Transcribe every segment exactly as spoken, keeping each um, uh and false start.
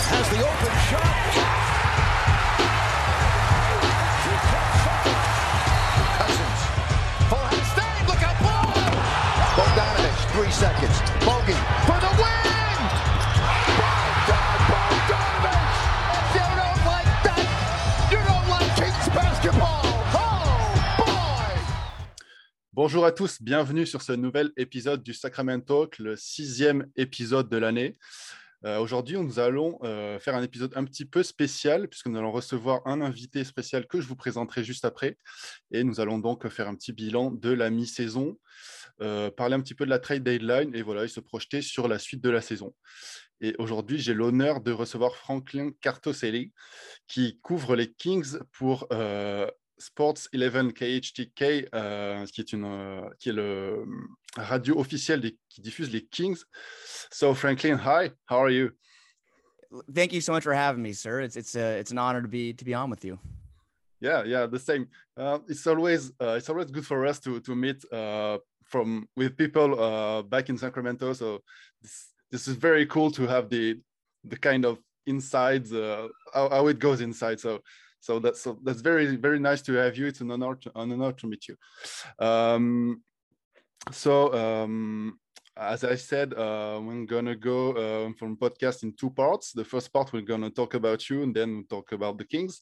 has the open shot. Cousins. Full head of steam. Look out, ball. Bogdanovich, three seconds. Bogey for the win. Bogdan Bogdanovich. If you don't like that, you don't like Kings basketball. Oh, boy. Bonjour à tous, bienvenue sur ce nouvel épisode du Sacramento Talk, le sixième épisode de l'année. Euh, aujourd'hui, nous allons euh, faire un épisode un petit peu spécial puisque nous allons recevoir un invité spécial que je vous présenterai juste après. Et nous allons donc faire un petit bilan de la mi-saison, euh, parler un petit peu de la trade deadline et voilà, et se projeter sur la suite de la saison. Et aujourd'hui, j'ai l'honneur de recevoir Franklin Cartoselli qui couvre les Kings pour euh, Sports eleven K H T K, euh, qui, est une, euh, qui est le radio officiel des, qui diffuse les Kings. So Franklin, hi, how are you? Thank you so much for having me, sir. It's it's a it's an honor to be to be on with you. Yeah, yeah, the same. Uh, it's always uh, it's always good for us to to meet uh, from with people uh, back in Sacramento. So this, this is very cool to have the the kind of insides uh, how, how it goes inside. So. So that's so that's very very nice to have you. It's an honor to, an honor to meet you. Um, so um, as I said, uh, we're gonna go uh, from podcast in two parts. The first part we're gonna talk about you, and then we'll talk about the Kings.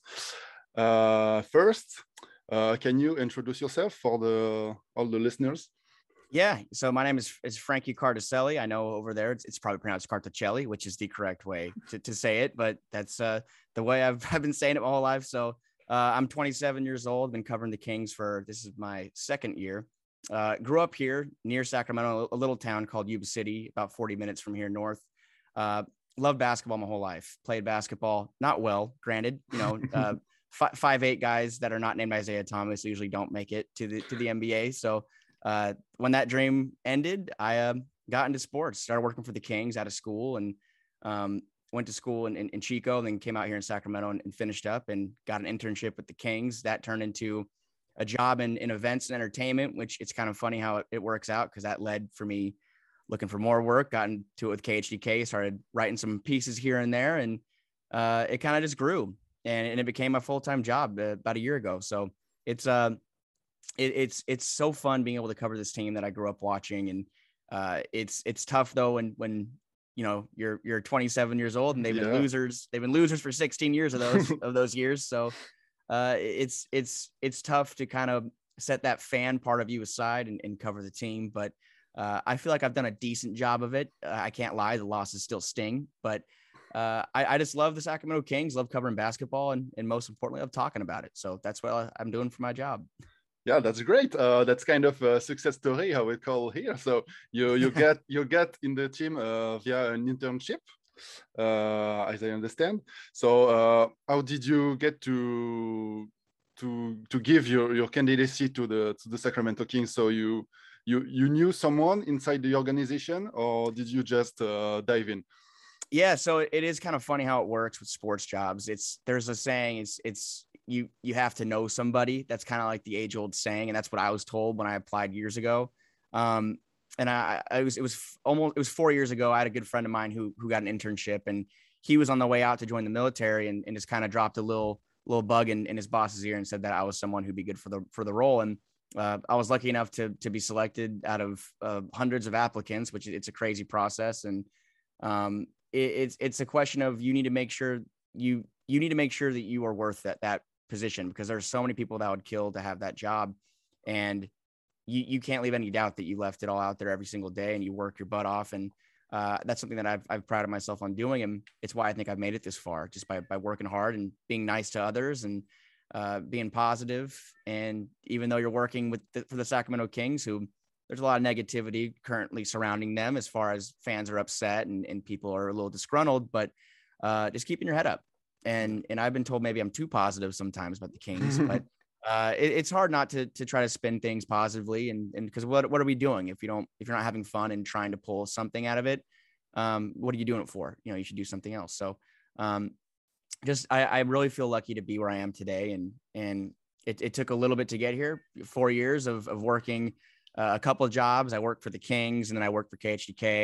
Uh, first, uh, can you introduce yourself for the all the listeners? Yeah. So my name is is Frankie Cartoselli. I know over there it's, it's probably pronounced Cartocelli, which is the correct way to, to say it, but that's uh, the way I've, I've been saying it my whole life. So uh, I'm twenty-seven years old, been covering the Kings for, this is my second year. Uh, grew up here near Sacramento, a little town called Yuba City, about forty minutes from here north. Uh, loved basketball my whole life. Played basketball, not well, granted, you know, uh, f- five, eight guys that are not named Isaiah Thomas usually don't make it to the, to the N B A. So Uh, when that dream ended, I uh, got into sports, started working for the Kings out of school, and um, went to school in, in, in Chico, and then came out here in Sacramento and, and finished up and got an internship with the Kings. That turned into a job in, in events and entertainment, which it's kind of funny how it, it works out because that led for me looking for more work, got into it with K H T K, started writing some pieces here and there, and uh, it kind of just grew, and, and it became my full-time job uh, about a year ago. So it's uh, It, it's it's so fun being able to cover this team that I grew up watching, and uh, it's it's tough though when when you know you're you're twenty-seven years old and they've Yeah. been losers they've been losers for sixteen years of those of those years. So uh, it's it's it's tough to kind of set that fan part of you aside and, and cover the team. But uh, I feel like I've done a decent job of it. Uh, I can't lie, the losses still sting, but uh, I, I just love the Sacramento Kings, love covering basketball, and and most importantly, love talking about it. So that's what I'm doing for my job. Yeah, that's great. Uh, that's kind of a success story, how we call here. So you you get you get in the team uh, via an internship, uh, as I understand. So uh, how did you get to to to give your, your candidacy to the to the Sacramento Kings? So you you you knew someone inside the organization, or did you just uh, dive in? Yeah, so it is kind of funny how it works with sports jobs. It's there's a saying, it's it's you you have to know somebody. That's kind of like the age old saying, and that's what I was told when I applied years ago. Um, and I, I was it was almost it was four years ago. I had a good friend of mine who who got an internship, and he was on the way out to join the military, and, and just kind of dropped a little little bug in, in his boss's ear and said that I was someone who'd be good for the for the role. And uh, I was lucky enough to to be selected out of uh, hundreds of applicants, which it's a crazy process. And um, it, it's it's a question of you need to make sure you you need to make sure that you are worth that that position, because there's so many people that would kill to have that job, and you you can't leave any doubt that you left it all out there every single day and you work your butt off. And uh, that's something that I've I've prided myself on doing, and it's why I think I've made it this far, just by by working hard and being nice to others and uh, being positive. And even though you're working with the, for the Sacramento Kings, who there's a lot of negativity currently surrounding them as far as fans are upset and, and people are a little disgruntled, but uh, just keeping your head up. And and I've been told maybe I'm too positive sometimes about the Kings, but uh, it, it's hard not to to try to spin things positively. And and because what what are we doing if you don't if you're not having fun and trying to pull something out of it? Um, what are you doing it for? You know, you should do something else. So um, just I, I really feel lucky to be where I am today. And and it, it took a little bit to get here. Four years of of working uh, a couple of jobs. I worked for the Kings, and then I worked for K H T K.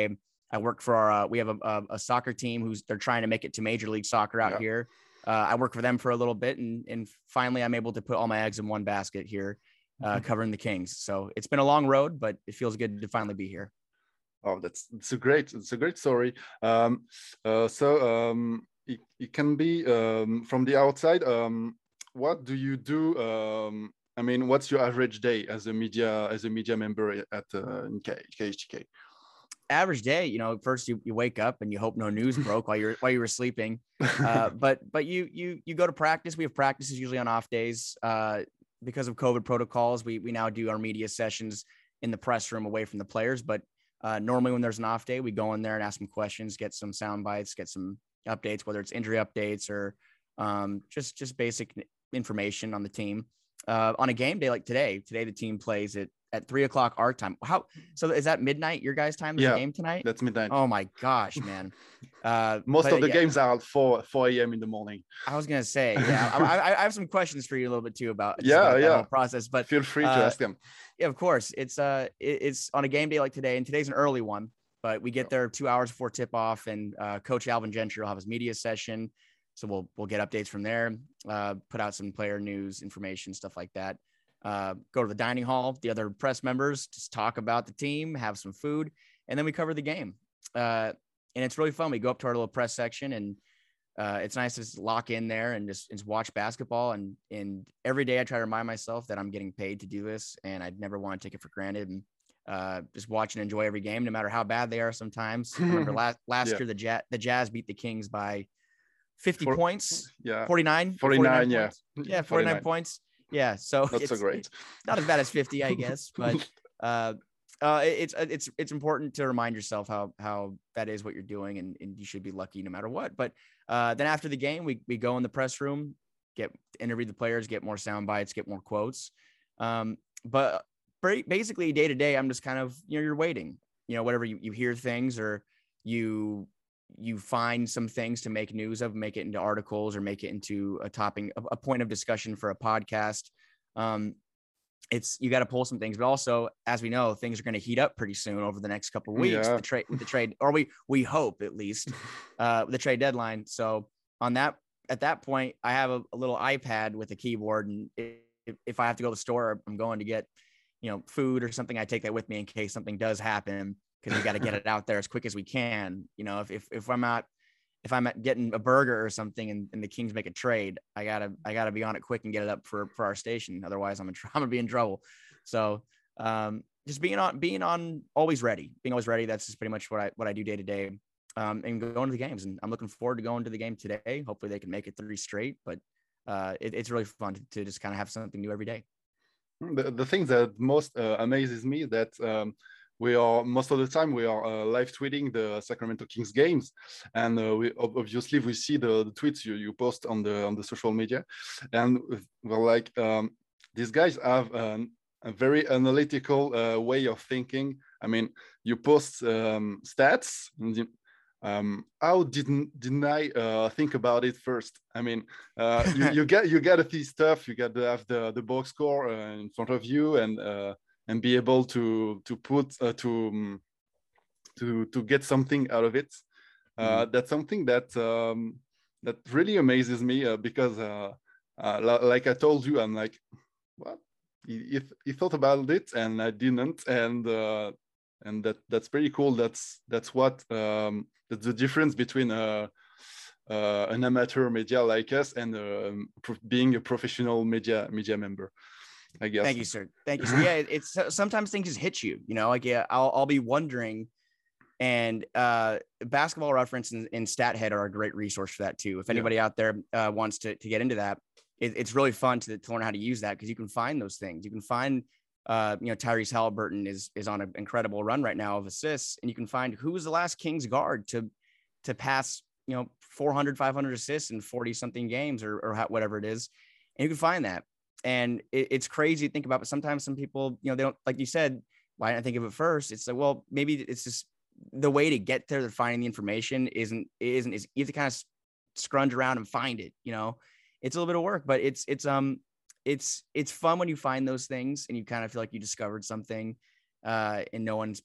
I work for our, uh, we have a, a, a soccer team who's they're trying to make it to Major League Soccer out Yeah. here. Uh, I work for them for a little bit, and and finally I'm able to put all my eggs in one basket here, uh, covering the Kings. So it's been a long road, but it feels good to finally be here. Oh, that's it's a great it's a great story. Um, uh, so um, it, it can be um, from the outside. Um, what do you do? Um, I mean, what's your average day as a media as a media member at uh, in K H T K? Average day, you know, first you, you wake up and you hope no news broke while you're while you were sleeping. Uh, but but you you you go to practice. We have practices usually on off days. Uh, because of COVID protocols, we we now do our media sessions in the press room away from the players. But uh, normally when there's an off day, we go in there and ask some questions, get some sound bites, get some updates, whether it's injury updates or um, just just basic information on the team. Uh, on a game day like today, today the team plays at at three o'clock our time. How so? Is that midnight your guys' time? Is Yeah, the game tonight? That's midnight. Oh my gosh, man! Uh, Most but, of the yeah, games are at four four a m in the morning. I was gonna say, yeah, I, I, I have some questions for you a little bit too about just Yeah, about that yeah. whole process. But Feel free to uh, ask them. yeah, of course. It's uh, it, it's on a game day like today, and today's an early one. But we get there two hours before tip off, and uh, Coach Alvin Gentry will have his media session, so we'll we'll get updates from there, uh, put out some player news, information, stuff like that. Uh, go to the dining hall, the other press members, just talk about the team, have some food, and then we cover the game. Uh, and it's really fun. We go up to our little press section, and uh, it's nice to just lock in there and just, just watch basketball. And and every day I try to remind myself that I'm getting paid to do this, and I'd never want to take it for granted. And uh, just watch and enjoy every game, no matter how bad they are. Sometimes I remember last last Yeah. year the Jazz the Jazz beat the Kings by fifty For- points, Yeah, forty-nine, forty-nine. Yeah, points. yeah, forty-nine points. Yeah, so Not it's so great. not as bad as fifty, I guess, but uh, uh, it's it's it's important to remind yourself how how that is what you're doing, and, and you should be lucky no matter what. But uh, then after the game, we we go in the press room, get interview the players, get more sound bites, get more quotes. Um, but basically, day to day, I'm just kind of you know you're waiting. You know, whatever you, you hear things or you you find some things to make news of, make it into articles or make it into a topping, a, a point of discussion for a podcast. Um, it's, you got to pull some things, but also, as we know, things are going to heat up pretty soon over the next couple of weeks Yeah. with the trade, with the trade, or we, we hope at least, uh, the trade deadline. So on that, at that point, I have a, a little iPad with a keyboard. And if, if I have to go to the store, I'm going to get, you know, food or something, I take that with me in case something does happen, because we got to get it out there as quick as we can. You know, if, if, if I'm out, if I'm at getting a burger or something and, and the Kings make a trade, I gotta, I gotta be on it quick and get it up for, for our station. Otherwise I'm in, tr- I'm gonna be in trouble. So um, just being on, being on always ready, being always ready. That's just pretty much what I, what I do day to day, um, and going to the games. And I'm looking forward to going to the game today. Hopefully they can make it three straight, but uh, it, it's really fun to, to just kind of have something new every day. The, the thing that most uh, amazes me that um, we are most of the time we are uh, live tweeting the Sacramento Kings games, and uh, we obviously we see the, the tweets you, you post on the on the social media, and we're like um, these guys have um, a very analytical uh, way of thinking. I mean, you post um, stats. And you, Um, how didn't didn't I uh, think about it first? I mean, uh, you, you get you get this stuff. You got to have the the box score uh, in front of you, and uh, and be able to to put uh, to um, to to get something out of it. Uh, mm-hmm. That's something that um, that really amazes me uh, because, uh, uh, like I told you, I'm like, what? He, he thought about it, and I didn't, and uh, and that that's pretty cool. That's that's what. Um, That's the difference between uh, uh, an amateur media like us and uh, being a professional media media member, I guess. Thank you, sir. Thank you, sir. Yeah, it's sometimes things just hit you. You know, like yeah, I'll I'll be wondering, and uh, Basketball Reference and, and StatHead are a great resource for that too. If anybody yeah. out there uh, wants to to get into that, it, it's really fun to, to learn how to use that, because you can find those things. You can find. Uh, you know, Tyrese Halliburton is is on an incredible run right now of assists, and you can find who was the last Kings guard to to pass, you know, four hundred, five hundred assists in forty something games or or whatever it is, and you can find that. And it, it's crazy to think about, but sometimes some people, you know, they don't, like you said, why didn't I think of it first? It's like, well, maybe it's just the way to get there to finding the information isn't isn't is you have to kind of scrunch around and find it. You know, it's a little bit of work, but it's it's um. It's it's fun when you find those things and you kind of feel like you discovered something, uh, and no one's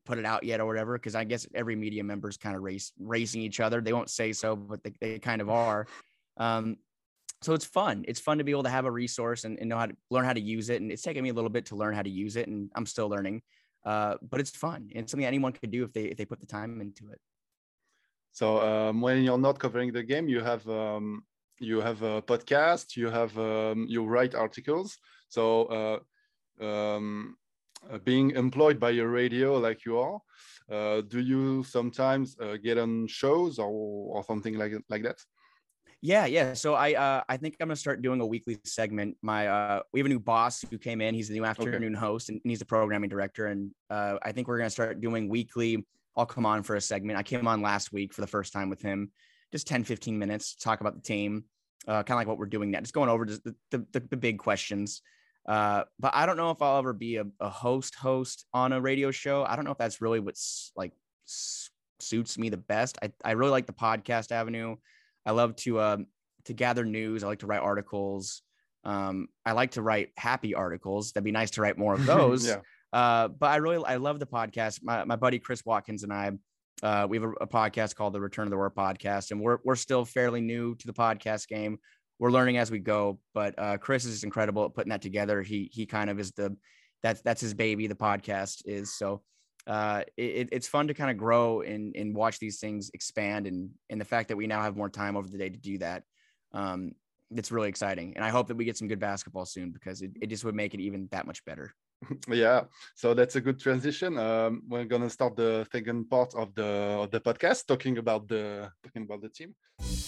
put it out yet or whatever, because I guess every media member is kind of race racing each other. They won't say so, but they, they kind of are. Um, so it's fun. It's fun to be able to have a resource and, and know how to learn how to use it. And it's taken me a little bit to learn how to use it, and I'm still learning. Uh, but it's fun. It's something anyone could do if they if they put the time into it. So um, when you're not covering the game, you have um, you have a podcast, you have um, you write articles. So uh, um, uh, being employed by a radio like you are, uh, do you sometimes uh, get on shows or or something like like that? Yeah, yeah. So I uh, I think I'm gonna start doing a weekly segment. My uh, we have a new boss who came in. He's the new afternoon okay. host, and he's the programming director. And uh, I think we're gonna start doing weekly. I'll come on for a segment. I came on last week for the first time with him, just ten, fifteen minutes to talk about the team, uh, kind of like what we're doing now, just going over just the, the, the, the big questions. Uh, but I don't know if I'll ever be a, a host host on a radio show. I don't know if that's really what's like s- suits me the best. I, I really like the podcast avenue. I love to uh, to gather news. I like to write articles. Um, I like to write happy articles. That'd be nice to write more of those. yeah. Uh, but I really I love the podcast. My my buddy Chris Watkins and I, uh, we have a, a podcast called the Return of the Roar podcast, and we're we're still fairly new to the podcast game. We're learning as we go. But uh, Chris is incredible at putting that together. He he kind of is the that's that's his baby. The podcast is so. Uh, it, it's fun to kind of grow and, and watch these things expand. And, and the fact that we now have more time over the day to do that, um, it's really exciting. And I hope that we get some good basketball soon, because it, it just would make it even that much better. Yeah, so that's a good transition. Um, we're gonna start the second part of the of the podcast, talking about the talking about the team.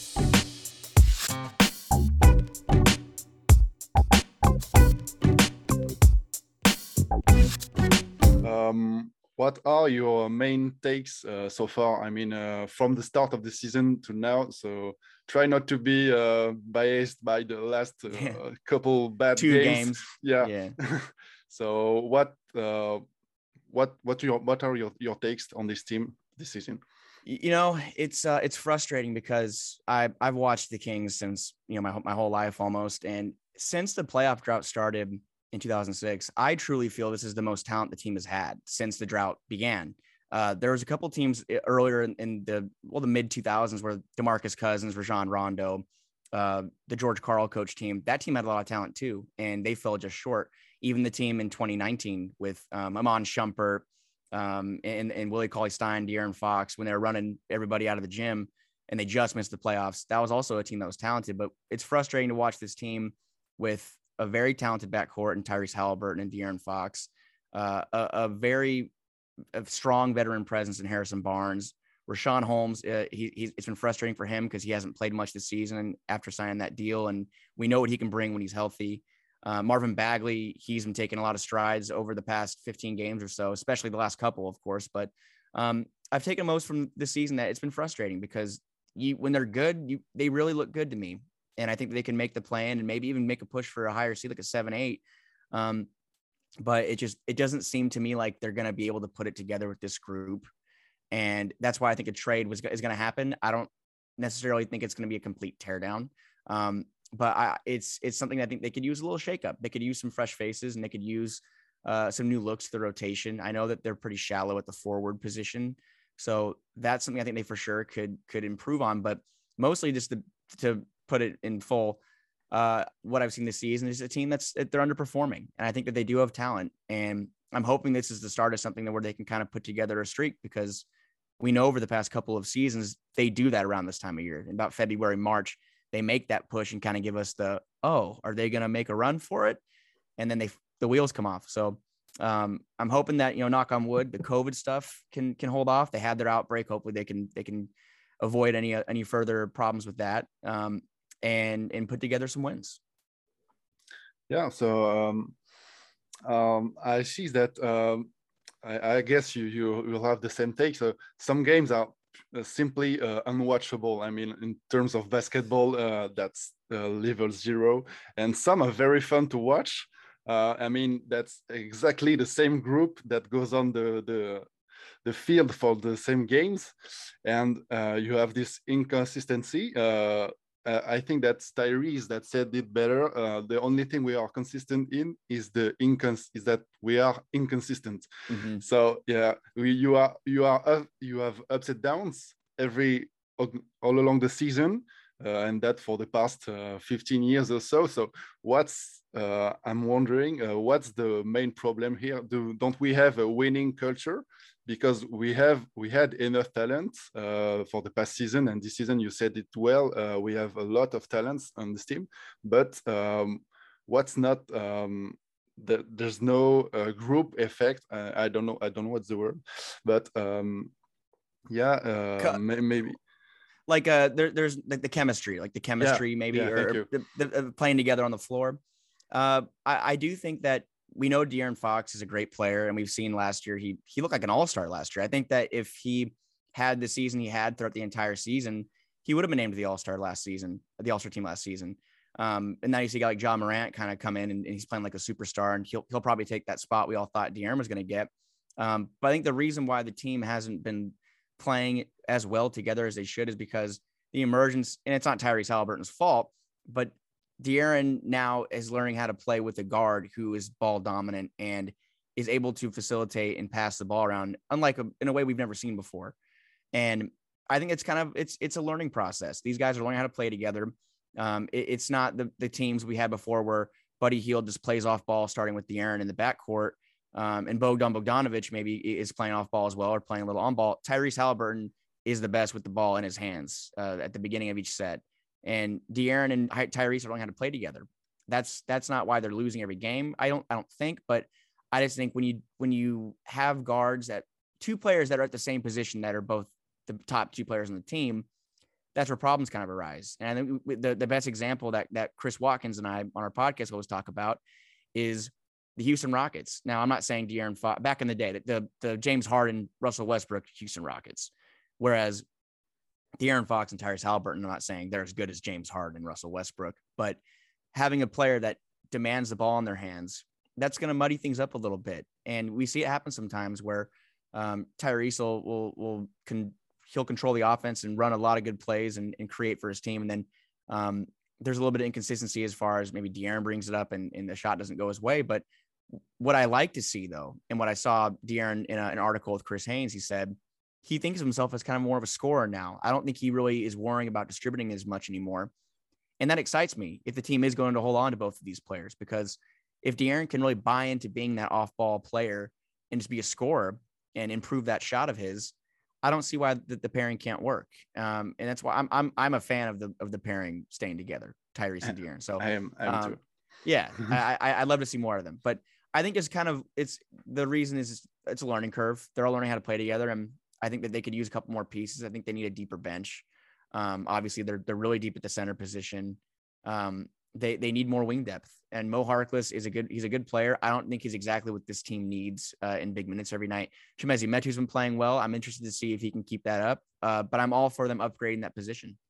Um, What are your main takes uh, so far? I mean, uh, from the start of the season to now. So try not to be uh, biased by the last uh, yeah. couple bad Two games. games. Yeah. yeah. So what uh, what what your what are your, your takes on this team this season? You know, it's uh, it's frustrating because I I've watched the Kings since you know my my whole life almost, and since the playoff drought started in two thousand six, I truly feel this is the most talent the team has had since the drought began. Uh, there was a couple teams earlier in, in the well the mid two thousands where DeMarcus Cousins, Rajon Rondo, uh, the George Karl coach team. That team had a lot of talent too, and they fell just short. Even the team in twenty nineteen with um, Iman Shumpert um, and, and Willie Cauley-Stein, De'Aaron Fox, when they were running everybody out of the gym and they just missed the playoffs. That was also a team that was talented, but it's frustrating to watch this team with a very talented backcourt and Tyrese Halliburton and De'Aaron Fox, uh, a, a very a strong veteran presence in Harrison Barnes. Rashawn Holmes, uh, he, he's, it's been frustrating for him because he hasn't played much this season after signing that deal, and we know what he can bring when he's healthy. Uh, Marvin Bagley, he's been taking a lot of strides over the past fifteen games or so, especially the last couple, of course. But um, I've taken most from this season that it's been frustrating because you, when they're good, you, they really look good to me. And I think they can make the plan and maybe even make a push for a higher seed, like a seven, eight. Um, but it just, it doesn't seem to me like they're going to be able to put it together with this group. And that's why I think a trade was is going to happen. I don't necessarily think it's going to be a complete teardown. Um, but I, it's, it's something I think they could use a little shakeup. They could use some fresh faces and they could use uh, some new looks to the rotation. I know that they're pretty shallow at the forward position. So that's something I think they for sure could, could improve on, but mostly just to, to, put it in full. Uh, what I've seen this season is a team that's they're underperforming, and I think that they do have talent. And I'm hoping this is the start of something where they can kind of put together a streak, because we know over the past couple of seasons they do that around this time of year. In about February, March, they make that push and kind of give us the oh, are they going to make a run for it? And then they the wheels come off. So um, I'm hoping that you know, knock on wood, the COVID stuff can can hold off. They had their outbreak. Hopefully, they can they can avoid any any further problems with that. Um, and and put together some wins. Yeah, so um, um, I see that um, I, I guess you you will have the same take. So some games are simply uh, unwatchable. I mean, in terms of basketball, uh, that's uh, level zero, and some are very fun to watch. Uh, I mean, that's exactly the same group that goes on the the the field for the same games, and uh, you have this inconsistency. Uh, uh, I think that's Tyrese that said it better. Uh, the only thing we are consistent in is the incons is that we are inconsistent. Mm-hmm. So yeah, we, you are you are up, you have ups and downs every all along the season, uh, and that for the past uh, fifteen years or so. So what's uh, I'm wondering uh, what's the main problem here? Do don't we have a winning culture? Because we have we had enough talent uh, for the past season, and this season you said it well. Uh, we have a lot of talents on this team, but um, what's not um, the, there's no uh, group effect. Uh, I don't know. I don't know what's the word, but um, yeah, uh, may, maybe like uh, there, there's like the chemistry, like the chemistry, yeah, maybe, yeah, or the, the, the playing together on the floor. Uh, I, I do think that. We know De'Aaron Fox is a great player, and we've seen last year he he looked like an all-star last year. I think that if he had the season he had throughout the entire season, he would have been named to the all-star last season, the all-star team last season. Um, and now you see a guy like John Morant kind of come in, and, and he's playing like a superstar, and he'll he'll probably take that spot we all thought De'Aaron was going to get. Um, but I think the reason why the team hasn't been playing as well together as they should is because the emergence, and it's not Tyrese Halliburton's fault, but De'Aaron now is learning how to play with a guard who is ball dominant and is able to facilitate and pass the ball around, unlike a, in a way we've never seen before. And I think it's kind of it's it's a learning process. These guys are learning how to play together. Um, it, it's not the the teams we had before where Buddy Hield just plays off ball, starting with De'Aaron in the backcourt, um, and Bogdan Bogdanovic maybe is playing off ball as well or playing a little on ball. Tyrese Halliburton is the best with the ball in his hands uh, at the beginning of each set. And De'Aaron and Tyrese are learning how to play together. That's that's not why they're losing every game. I don't I don't think, but I just think when you when you have guards that two players that are at the same position that are both the top two players on the team, that's where problems kind of arise. And I think the, the best example that that Chris Watkins and I on our podcast always talk about is the Houston Rockets. Now, I'm not saying De'Aaron Fox, back in the day, the the James Harden, Russell Westbrook, Houston Rockets, whereas De'Aaron Fox and Tyrese Halliburton, I'm not saying they're as good as James Harden and Russell Westbrook, but having a player that demands the ball in their hands, that's going to muddy things up a little bit. And we see it happen sometimes where um, Tyrese will, will, will con- he'll control the offense and run a lot of good plays and, and create for his team. And then um, there's a little bit of inconsistency as far as maybe De'Aaron brings it up and, and the shot doesn't go his way. But what I like to see, though, and what I saw De'Aaron in a, an article with Chris Haynes, he said, he thinks of himself as kind of more of a scorer now. I don't think he really is worrying about distributing as much anymore. And that excites me if the team is going to hold on to both of these players, because if De'Aaron can really buy into being that off-ball player and just be a scorer and improve that shot of his, I don't see why the, the pairing can't work. Um, and that's why I'm I'm I'm a fan of the of the pairing staying together, Tyrese and De'Aaron. So I am, I am um, too. Yeah, I, I I'd love to see more of them. But I think it's kind of it's the reason is it's a learning curve. They're all learning how to play together, and I think that they could use a couple more pieces. I think they need a deeper bench. Um, obviously, they're they're really deep at the center position. Um, they they need more wing depth. And Mo Harkless is a good he's a good player. I don't think he's exactly what this team needs uh, in big minutes every night. Chimezie Metu's been playing well. I'm interested to see if he can keep that up. Uh, but I'm all for them upgrading that position.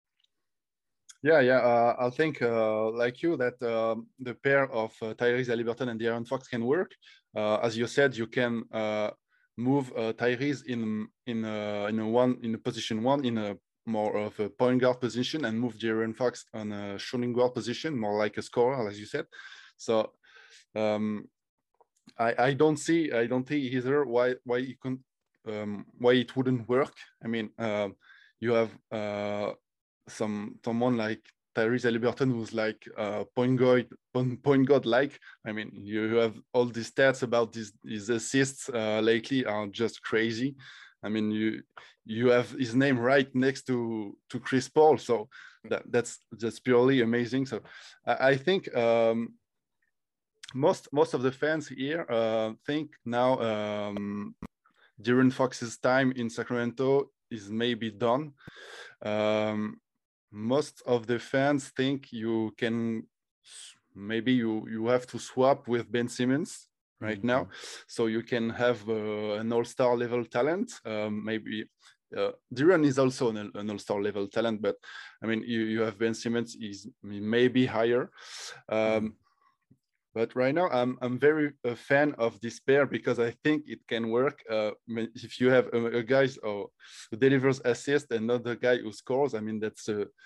Yeah, yeah. Uh, I think, uh, like you, that um, the pair of uh, Tyrese Halliburton and De'Aaron Fox can work. Uh, as you said, you can uh, move uh, Tyrese in in a, in a one in a position one in a more of a point guard position, and move De'Aaron Fox on a shooting guard position, more like a scorer, as you said. So um, I I don't see I don't see either why why you can um, why it wouldn't work. I mean, uh, you have uh, some someone like Tyrese Halliburton who's like uh, point guard point guard like. I mean, you have all these stats about these his assists uh, lately are just crazy. I mean, you you have his name right next to to Chris Paul, so that, that's just purely amazing. So I, I think um, most most of the fans here uh, think now um, De'Aaron Fox's time in Sacramento is maybe done. Um, most of the fans think you can maybe you you have to swap with Ben Simmons right mm-hmm. now, so you can have uh, an all-star level talent. Um, maybe uh, De'Aaron is also an, an all-star level talent, but I mean, you, you have Ben Simmons is maybe higher. Um, mm-hmm. But right now, I'm I'm very a fan of this pair because I think it can work. Uh, if you have a, a guy oh, who delivers assist and not the guy who scores, I mean that's a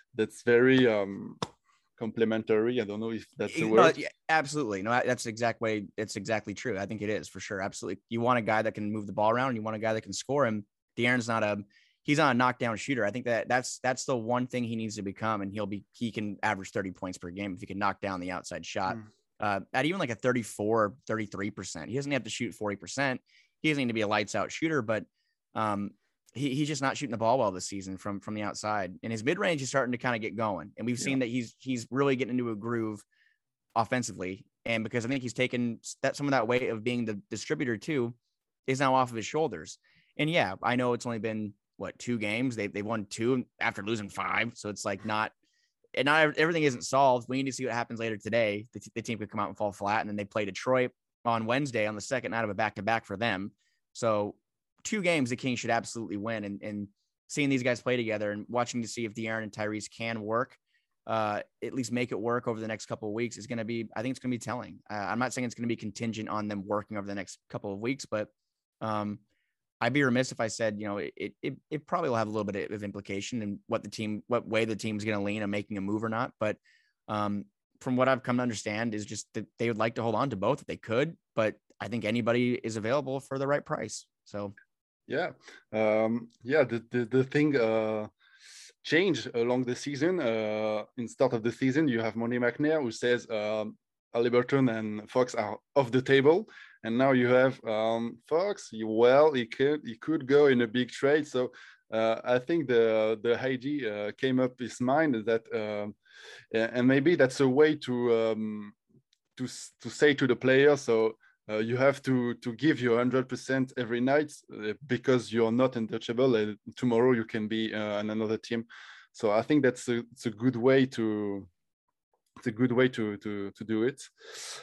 that's very um, complementary. I don't know if that's the No, word. yeah, absolutely. No, that's the exact way. It's exactly true. I think it is for sure. Absolutely. You want a guy that can move the ball around, and you want a guy that can score him. De'Aaron's not a, he's not a knockdown shooter. I think that that's, that's the one thing he needs to become. And he'll be, he can average thirty points per game if he can knock down the outside shot mm. uh, at even like a thirty-four, thirty-three percent. He doesn't have to shoot forty percent. He doesn't need to be a lights out shooter, but um, he, he's just not shooting the ball well this season from, from the outside, and his mid range is starting to kind of get going. And we've yeah. seen that he's, he's really getting into a groove offensively. And because I think he's taken that, some of that weight of being the distributor too is now off of his shoulders. And yeah, I know it's only been what, two games. They they won two after losing five. So it's like not, and not everything isn't solved. We need to see what happens later today. The, the team could come out and fall flat. And then they play Detroit on Wednesday on the second night of a back-to-back for them. So two games the Kings should absolutely win. And, and seeing these guys play together and watching to see if De'Aaron and Tyrese can work, uh, at least make it work over the next couple of weeks is going to be, I think it's going to be telling. Uh, I'm not saying it's going to be contingent on them working over the next couple of weeks, but um, I'd be remiss if I said, you know, it, it, it probably will have a little bit of implication in what the team, what way the team's going to lean on making a move or not. But um, from what I've come to understand is just that they would like to hold on to both if they could, but I think anybody is available for the right price. So, yeah. Um, yeah. The, the, the thing uh, changed along the season. Uh, in start of the season, you have Monty McNair who says um, Haliburton and Fox are off the table. And now you have um, Fox. You, well, he could he could go in a big trade. So uh, I think the the idea uh, came up his mind that, um, and maybe that's a way to um, to to say to the player. So uh, you have to to give your hundred percent every night uh, because you're not untouchable. And tomorrow you can be uh, on another team. So I think that's a it's a good way to it's a good way to to to do it.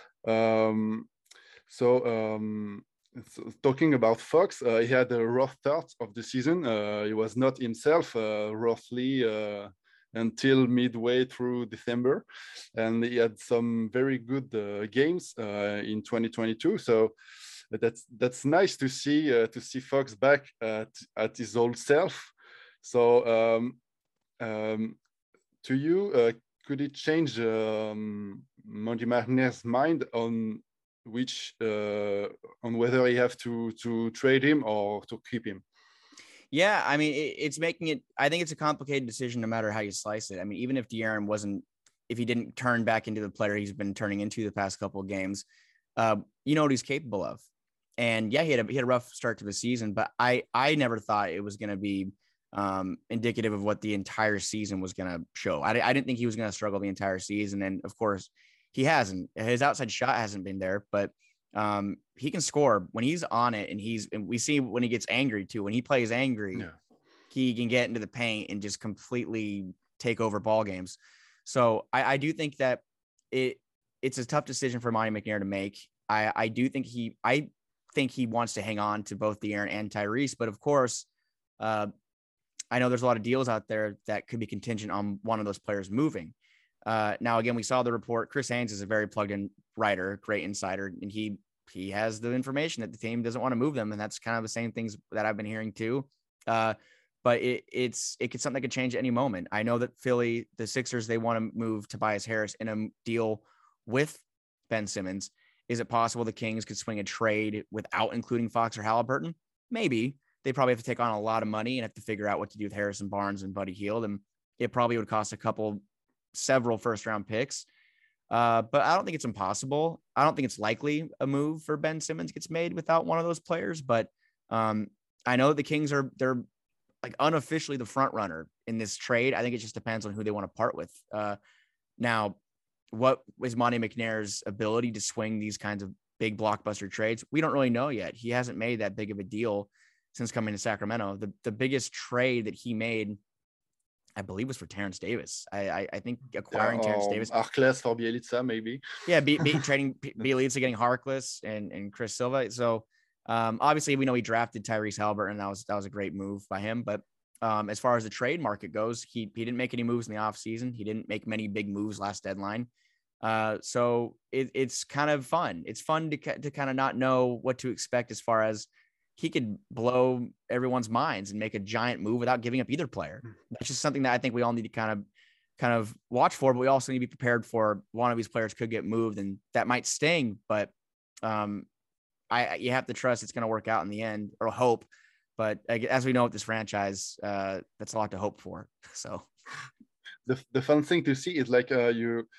Um, So, um, so talking about Fox, uh, he had a rough start of the season. Uh, he was not himself uh, roughly uh, until midway through December, and he had some very good uh, games uh, in twenty twenty-two. So that's that's nice to see uh, to see Fox back at at his old self. So um, um, to you, uh, could it change um, Monty McNair's mind on which uh, on whether he have to to trade him or to keep him? Yeah, I mean, it, it's making it, I think it's a complicated decision no matter how you slice it. I mean, even if De'Aaron wasn't, if he didn't turn back into the player he's been turning into the past couple of games, uh, you know what he's capable of. And yeah, he had a, he had a rough start to the season, but I, I never thought it was going to be um, indicative of what the entire season was going to show. I, I didn't think he was going to struggle the entire season. And of course he hasn't. His outside shot hasn't been there, but um, he can score when he's on it. And he's, and we see when he gets angry too, when he plays angry, yeah. he can get into the paint and just completely take over ball games. So I, I do think that it, it's a tough decision for Monty McNair to make. I, I do think he, I think he wants to hang on to both De'Aaron and Tyrese, but of course, uh, I know there's a lot of deals out there that could be contingent on one of those players moving. Uh, now, again, we saw the report. Chris Haynes is a very plugged in writer, great insider, and he, he has the information that the team doesn't want to move them. And that's kind of the same things that I've been hearing too. Uh, but it, it's, it could, something that could change at any moment. I know that Philly, the Sixers, they want to move Tobias Harris in a deal with Ben Simmons. Is it possible the Kings could swing a trade without including Fox or Haliburton? Maybe. They probably have to take on a lot of money and have to figure out what to do with Harrison Barnes and Buddy Hield. And it probably would cost a couple, several first round picks. Uh, but I don't think it's impossible. I don't think it's likely a move for Ben Simmons gets made without one of those players. But um, I know the Kings are, they're like unofficially the front runner in this trade. I think it just depends on who they want to part with. Uh, now, what is Monty McNair's ability to swing these kinds of big blockbuster trades? We don't really know yet. He hasn't made that big of a deal since coming to Sacramento. The the biggest trade that he made, I believe, was for Terrence Davis. I I, I think acquiring yeah, um, Terrence Davis. Harkless for Bjelica, maybe. Yeah, be, be, trading Bjelica, getting Harkless and, and Chris Silva. So um, obviously we know he drafted Tyrese Haliburton, and that was that was a great move by him. But um, as far as the trade market goes, he he didn't make any moves in the offseason. He didn't make many big moves last deadline. Uh, so it, it's kind of fun. It's fun to to kind of not know what to expect as far as he could blow everyone's minds and make a giant move without giving up either player. That's just something that I think we all need to kind of kind of watch for, but we also need to be prepared for one of these players could get moved and that might sting, but um, I, you have to trust it's going to work out in the end, or hope. But as we know with this franchise, uh, that's a lot to hope for. So the, the fun thing to see is like uh, you,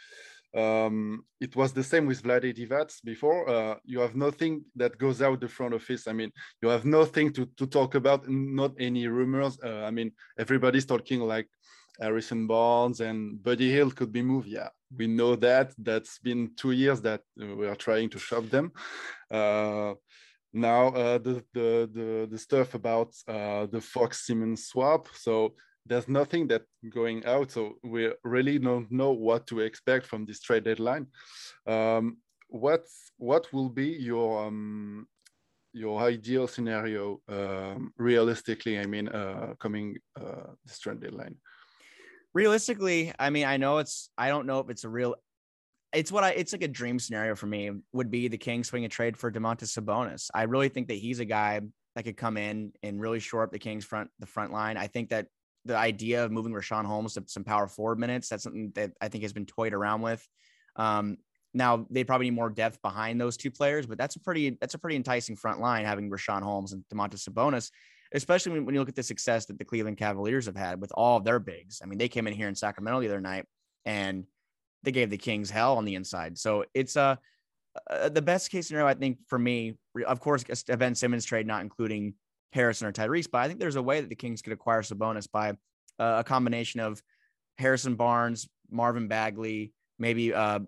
um, it was the same with Vlade Divac before. Uh, you have nothing that goes out the front office. I mean, you have nothing to, to talk about, not any rumors. Uh, I mean, everybody's talking like Harrison Barnes and Buddy Hield could be moved. Yeah, we know that. That's been two years that we are trying to shop them. Uh, now uh, the, the the the stuff about uh, the Fox Simmons swap. So there's nothing that going out. So we really don't know what to expect from this trade deadline. Um, what what will be your um, your ideal scenario um, realistically? I mean, uh, coming uh, this trade deadline. Realistically, I mean, I know it's, I don't know if it's a real, it's what I, it's like a dream scenario for me would be the Kings swing a trade for Domantas Sabonis. I really think that he's a guy that could come in and really shore up the Kings front, the front line. I think that the idea of moving Richaun Holmes to some power forward minutes, that's something that I think has been toyed around with. Um, now they probably need more depth behind those two players, but that's a pretty, that's a pretty enticing front line having Richaun Holmes and Domantas Sabonis, especially when, when you look at the success that the Cleveland Cavaliers have had with all of their bigs. I mean, they came in here in Sacramento the other night and they gave the Kings hell on the inside. So it's uh, uh the best case scenario, I think, for me, of course, a Ben Simmons trade, not including Harrison or Tyrese, but I think there's a way that the Kings could acquire Sabonis by uh, a combination of Harrison Barnes, Marvin Bagley, maybe uh,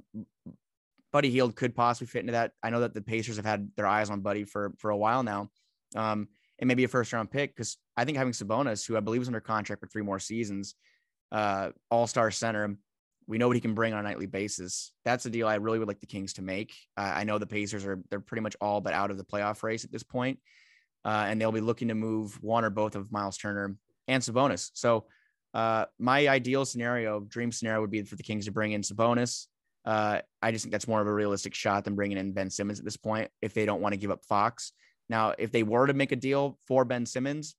Buddy Hield could possibly fit into that. I know that the Pacers have had their eyes on Buddy for, for a while now. Um, and maybe a first round pick, because I think having Sabonis, who I believe is under contract for three more seasons, uh, all-star center, we know what he can bring on a nightly basis. That's a deal I really would like the Kings to make. Uh, I know the Pacers are, they're pretty much all but out of the playoff race at this point. Uh, and they'll be looking to move one or both of Miles Turner and Sabonis. So uh, my ideal scenario, dream scenario would be for the Kings to bring in Sabonis. Uh, I just think that's more of a realistic shot than bringing in Ben Simmons at this point, if they don't want to give up Fox. Now, if they were to make a deal for Ben Simmons,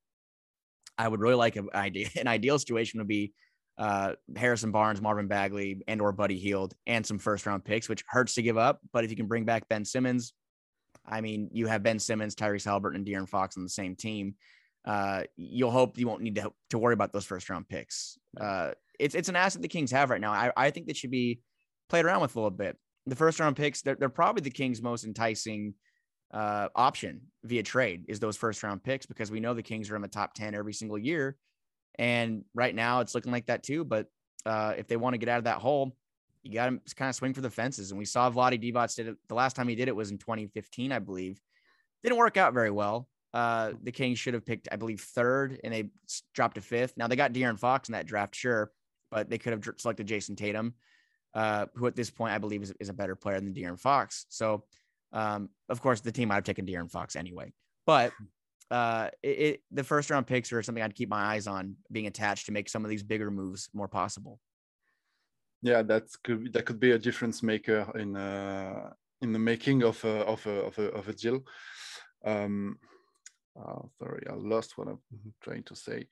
I would really like an idea. An ideal situation would be uh, Harrison Barnes, Marvin Bagley, and or Buddy Hield, and some first round picks, which hurts to give up. But if you can bring back Ben Simmons, I mean, you have Ben Simmons, Tyrese Haliburton, and De'Aaron Fox on the same team. Uh, you'll hope you won't need to, to worry about those first round picks. Uh, it's it's an asset the Kings have right now. I, I think that should be played around with a little bit. The first round picks, they're, they're probably the Kings' most enticing uh, option via trade is those first round picks, because we know the Kings are in the top ten every single year. And right now it's looking like that too. But uh, if they want to get out of that hole, you got to kind of swing for the fences. And we saw Vlade Divac did it. The last time he did it was in twenty fifteen, I believe. Didn't work out very well. Uh, the Kings should have picked, I believe, third, and they dropped to fifth. Now they got De'Aaron Fox in that draft, sure, but they could have selected Jason Tatum, uh, who at this point I believe is, is a better player than De'Aaron Fox. So, um, of course, the team might have taken De'Aaron Fox anyway. But uh, it, it, the first round picks are something I'd keep my eyes on being attached to make some of these bigger moves more possible. Yeah, that could that could be a difference maker in uh, in the making of a, of a, of a, of a deal. Um, oh, sorry, I lost what I'm trying to say.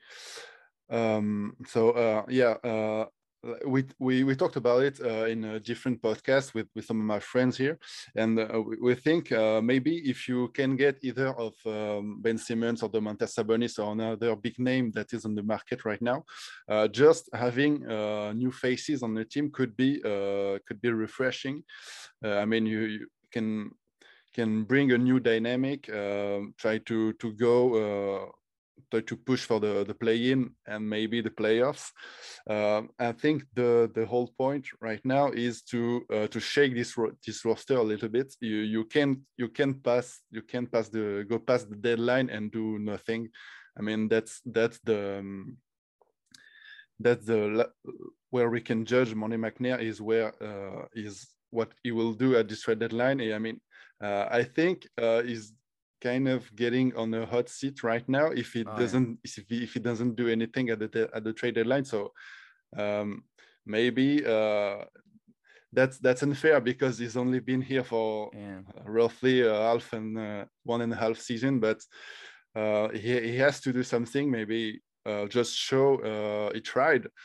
Um, so uh, yeah, uh, we we we talked about it uh, in a different podcast with with some of my friends here, and uh, we, we think uh, maybe if you can get either of um, Ben Simmons or Domantas Sabonis or another big name that is on the market right now, uh, just having uh, new faces on the team could be uh, could be refreshing. Uh, I mean, you, you can can bring a new dynamic. Uh, try to to go. Uh, try to push for the, the play-in and maybe the playoffs. Uh, I think the the whole point right now is to uh, to shake this ro- this roster a little bit. You you can you can pass you can pass the go past the deadline and do nothing. I mean that's that's the um, that's the where we can judge Monty McNair is where uh, is what he will do at this trade deadline. I mean uh, I think uh, is kind of getting on a hot seat right now if it oh, doesn't yeah. if, he, if he doesn't do anything at the at the trade deadline. So um, maybe uh, that's that's unfair because he's only been here for yeah. roughly a half and uh, one and a half season, but uh, he he has to do something. Maybe uh, just show uh, he tried.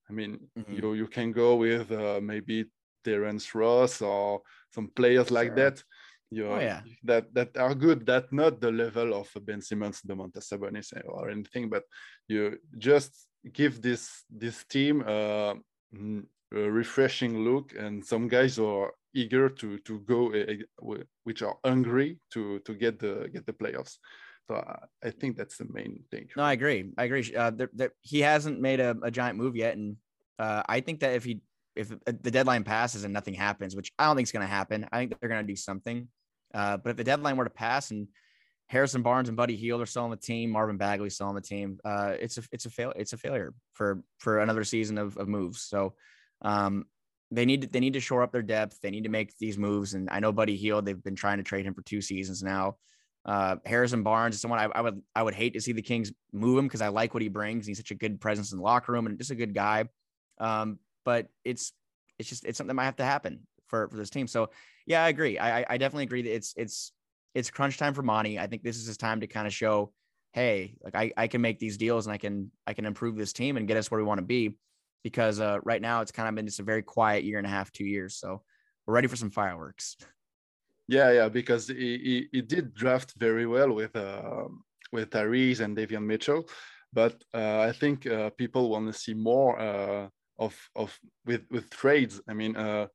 I mean, Mhm. you you can go with uh, maybe Terence Ross or some players like Sure. that. You Oh yeah. that that are good. That not the level of Ben Simmons, Domantas Sabonis, or anything, but you just give this this team uh, a refreshing look, and some guys are eager to to go, uh, which are hungry to to get the get the playoffs. So uh, I think that's the main thing. No, I agree. I agree. Uh, there, there, he hasn't made a, a giant move yet, and uh, I think that if he if the deadline passes and nothing happens, which I don't think is going to happen, I think they're going to do something. Uh, but if the deadline were to pass and Harrison Barnes and Buddy Hield are still on the team, Marvin Bagley still on the team, uh, it's a it's a fail it's a failure for for another season of, of moves. So um, they need to, they need to shore up their depth. They need to make these moves. And I know Buddy Hield, they've been trying to trade him for two seasons now. Uh, Harrison Barnes is someone I, I would I would hate to see the Kings move him because I like what he brings. He's such a good presence in the locker room and just a good guy. Um, but it's it's just it's something that might have to happen for, for this team. So yeah, I agree. I I definitely agree that it's it's it's crunch time for Monty. I think this is his time to kind of show, hey, like I, I can make these deals and I can I can improve this team and get us where we want to be. Because uh, right now it's kind of been just a very quiet year and a half, two years. So we're ready for some fireworks. Yeah, yeah, because he, he, he did draft very well with uh, with Tyrese and Davion Mitchell, but uh, I think uh, people want to see more uh, of of with with trades. I mean, uh,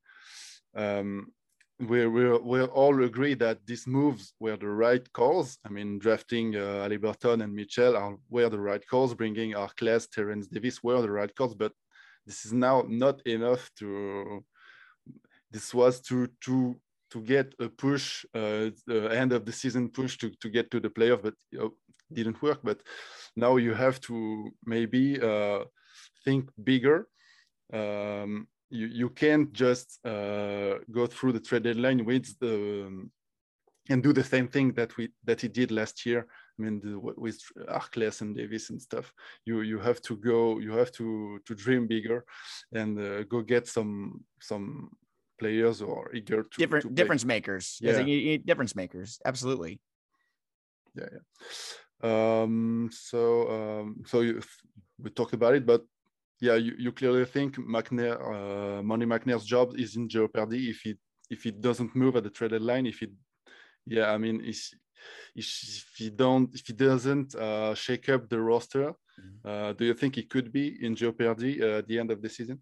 um, we we we all agree that these moves were the right calls. I mean, drafting uh, Haliburton and Mitchell are were the right calls. Bringing Arkless, Terence Davis were the right calls, but this is now not enough to. This was to to to get a push, uh, the end of the season push to, to get to the playoff, but you know, didn't work. But now you have to maybe uh, think bigger. Um, you, you can't just uh, go through the trade deadline with the um, and do the same thing that we that he did last year. I mean, the, with Arkless and Davis and stuff. You you have to go. You have to to dream bigger, and uh, go get some some players or eager to different to difference makers. Yeah, you, you, difference makers. Absolutely. Yeah, yeah. Um, so um, so you, we talked about it, but yeah, you, you clearly think McNair, uh, Monty McNair's job is in jeopardy if he if he doesn't move at the trade deadline. If he, yeah, I mean, if, if he don't if he doesn't uh, shake up the roster, uh, do you think he could be in jeopardy uh, at the end of the season?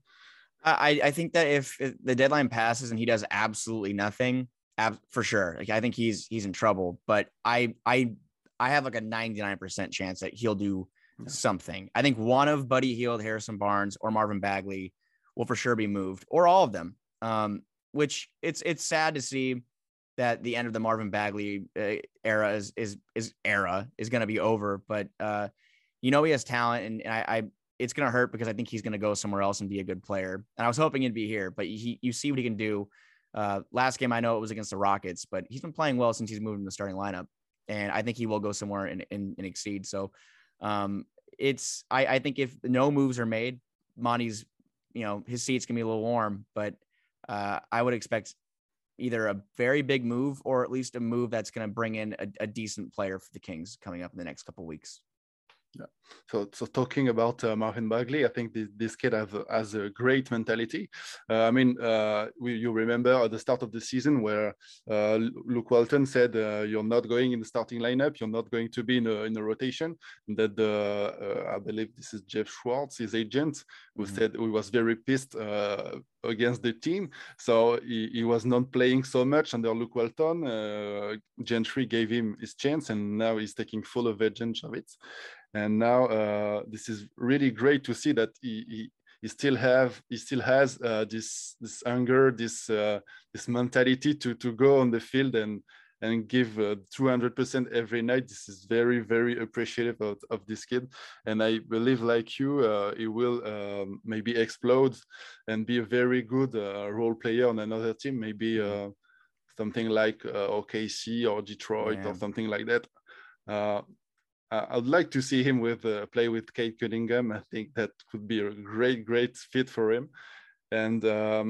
I, I think that if the deadline passes and he does absolutely nothing, ab- for sure, like I think he's he's in trouble. But I I I have like a ninety-nine percent chance that he'll do yeah. something. I think one of Buddy Hield, Harrison Barnes, or Marvin Bagley will for sure be moved, or all of them. Um, which it's it's sad to see that the end of the Marvin Bagley uh, era is is is era is going to be over. But uh, you know he has talent, and, and I. I it's going to hurt because I think he's going to go somewhere else and be a good player. And I was hoping he'd be here, but he, you see what he can do. Uh, last game, I know it was against the Rockets, but he's been playing well since he's moved in the starting lineup. And I think he will go somewhere and, and, and exceed. So um, it's, I, I think if no moves are made, Monty's, you know, his seat's going to be a little warm, but uh, I would expect either a very big move or at least a move that's going to bring in a, a decent player for the Kings coming up in the next couple of weeks. Yeah. So, so talking about uh, Marvin Bagley, I think this, this kid has, has a great mentality. Uh, I mean, uh, we, you remember at the start of the season where uh, Luke Walton said, uh, "You're not going in the starting lineup. You're not going to be in a, in a rotation." And that the, uh, I believe this is Jeff Schwartz, his agent, who mm-hmm. said he was very pissed uh, against the team. So he, he was not playing so much under Luke Walton. Uh, Gentry gave him his chance, and now he's taking full advantage of it. And now uh, this is really great to see that he, he, he still have he still has uh, this this anger, this uh, this mentality to to go on the field and and give uh, two hundred percent every night. This is very very appreciative of, of this kid, and I believe like you, uh, he will um, maybe explode and be a very good uh, role player on another team, maybe uh, something like uh, O K C or Detroit yeah. or something like that. Uh, I'd like to see him with uh, play with Cade Cunningham. I think that could be a great, great fit for him. And um,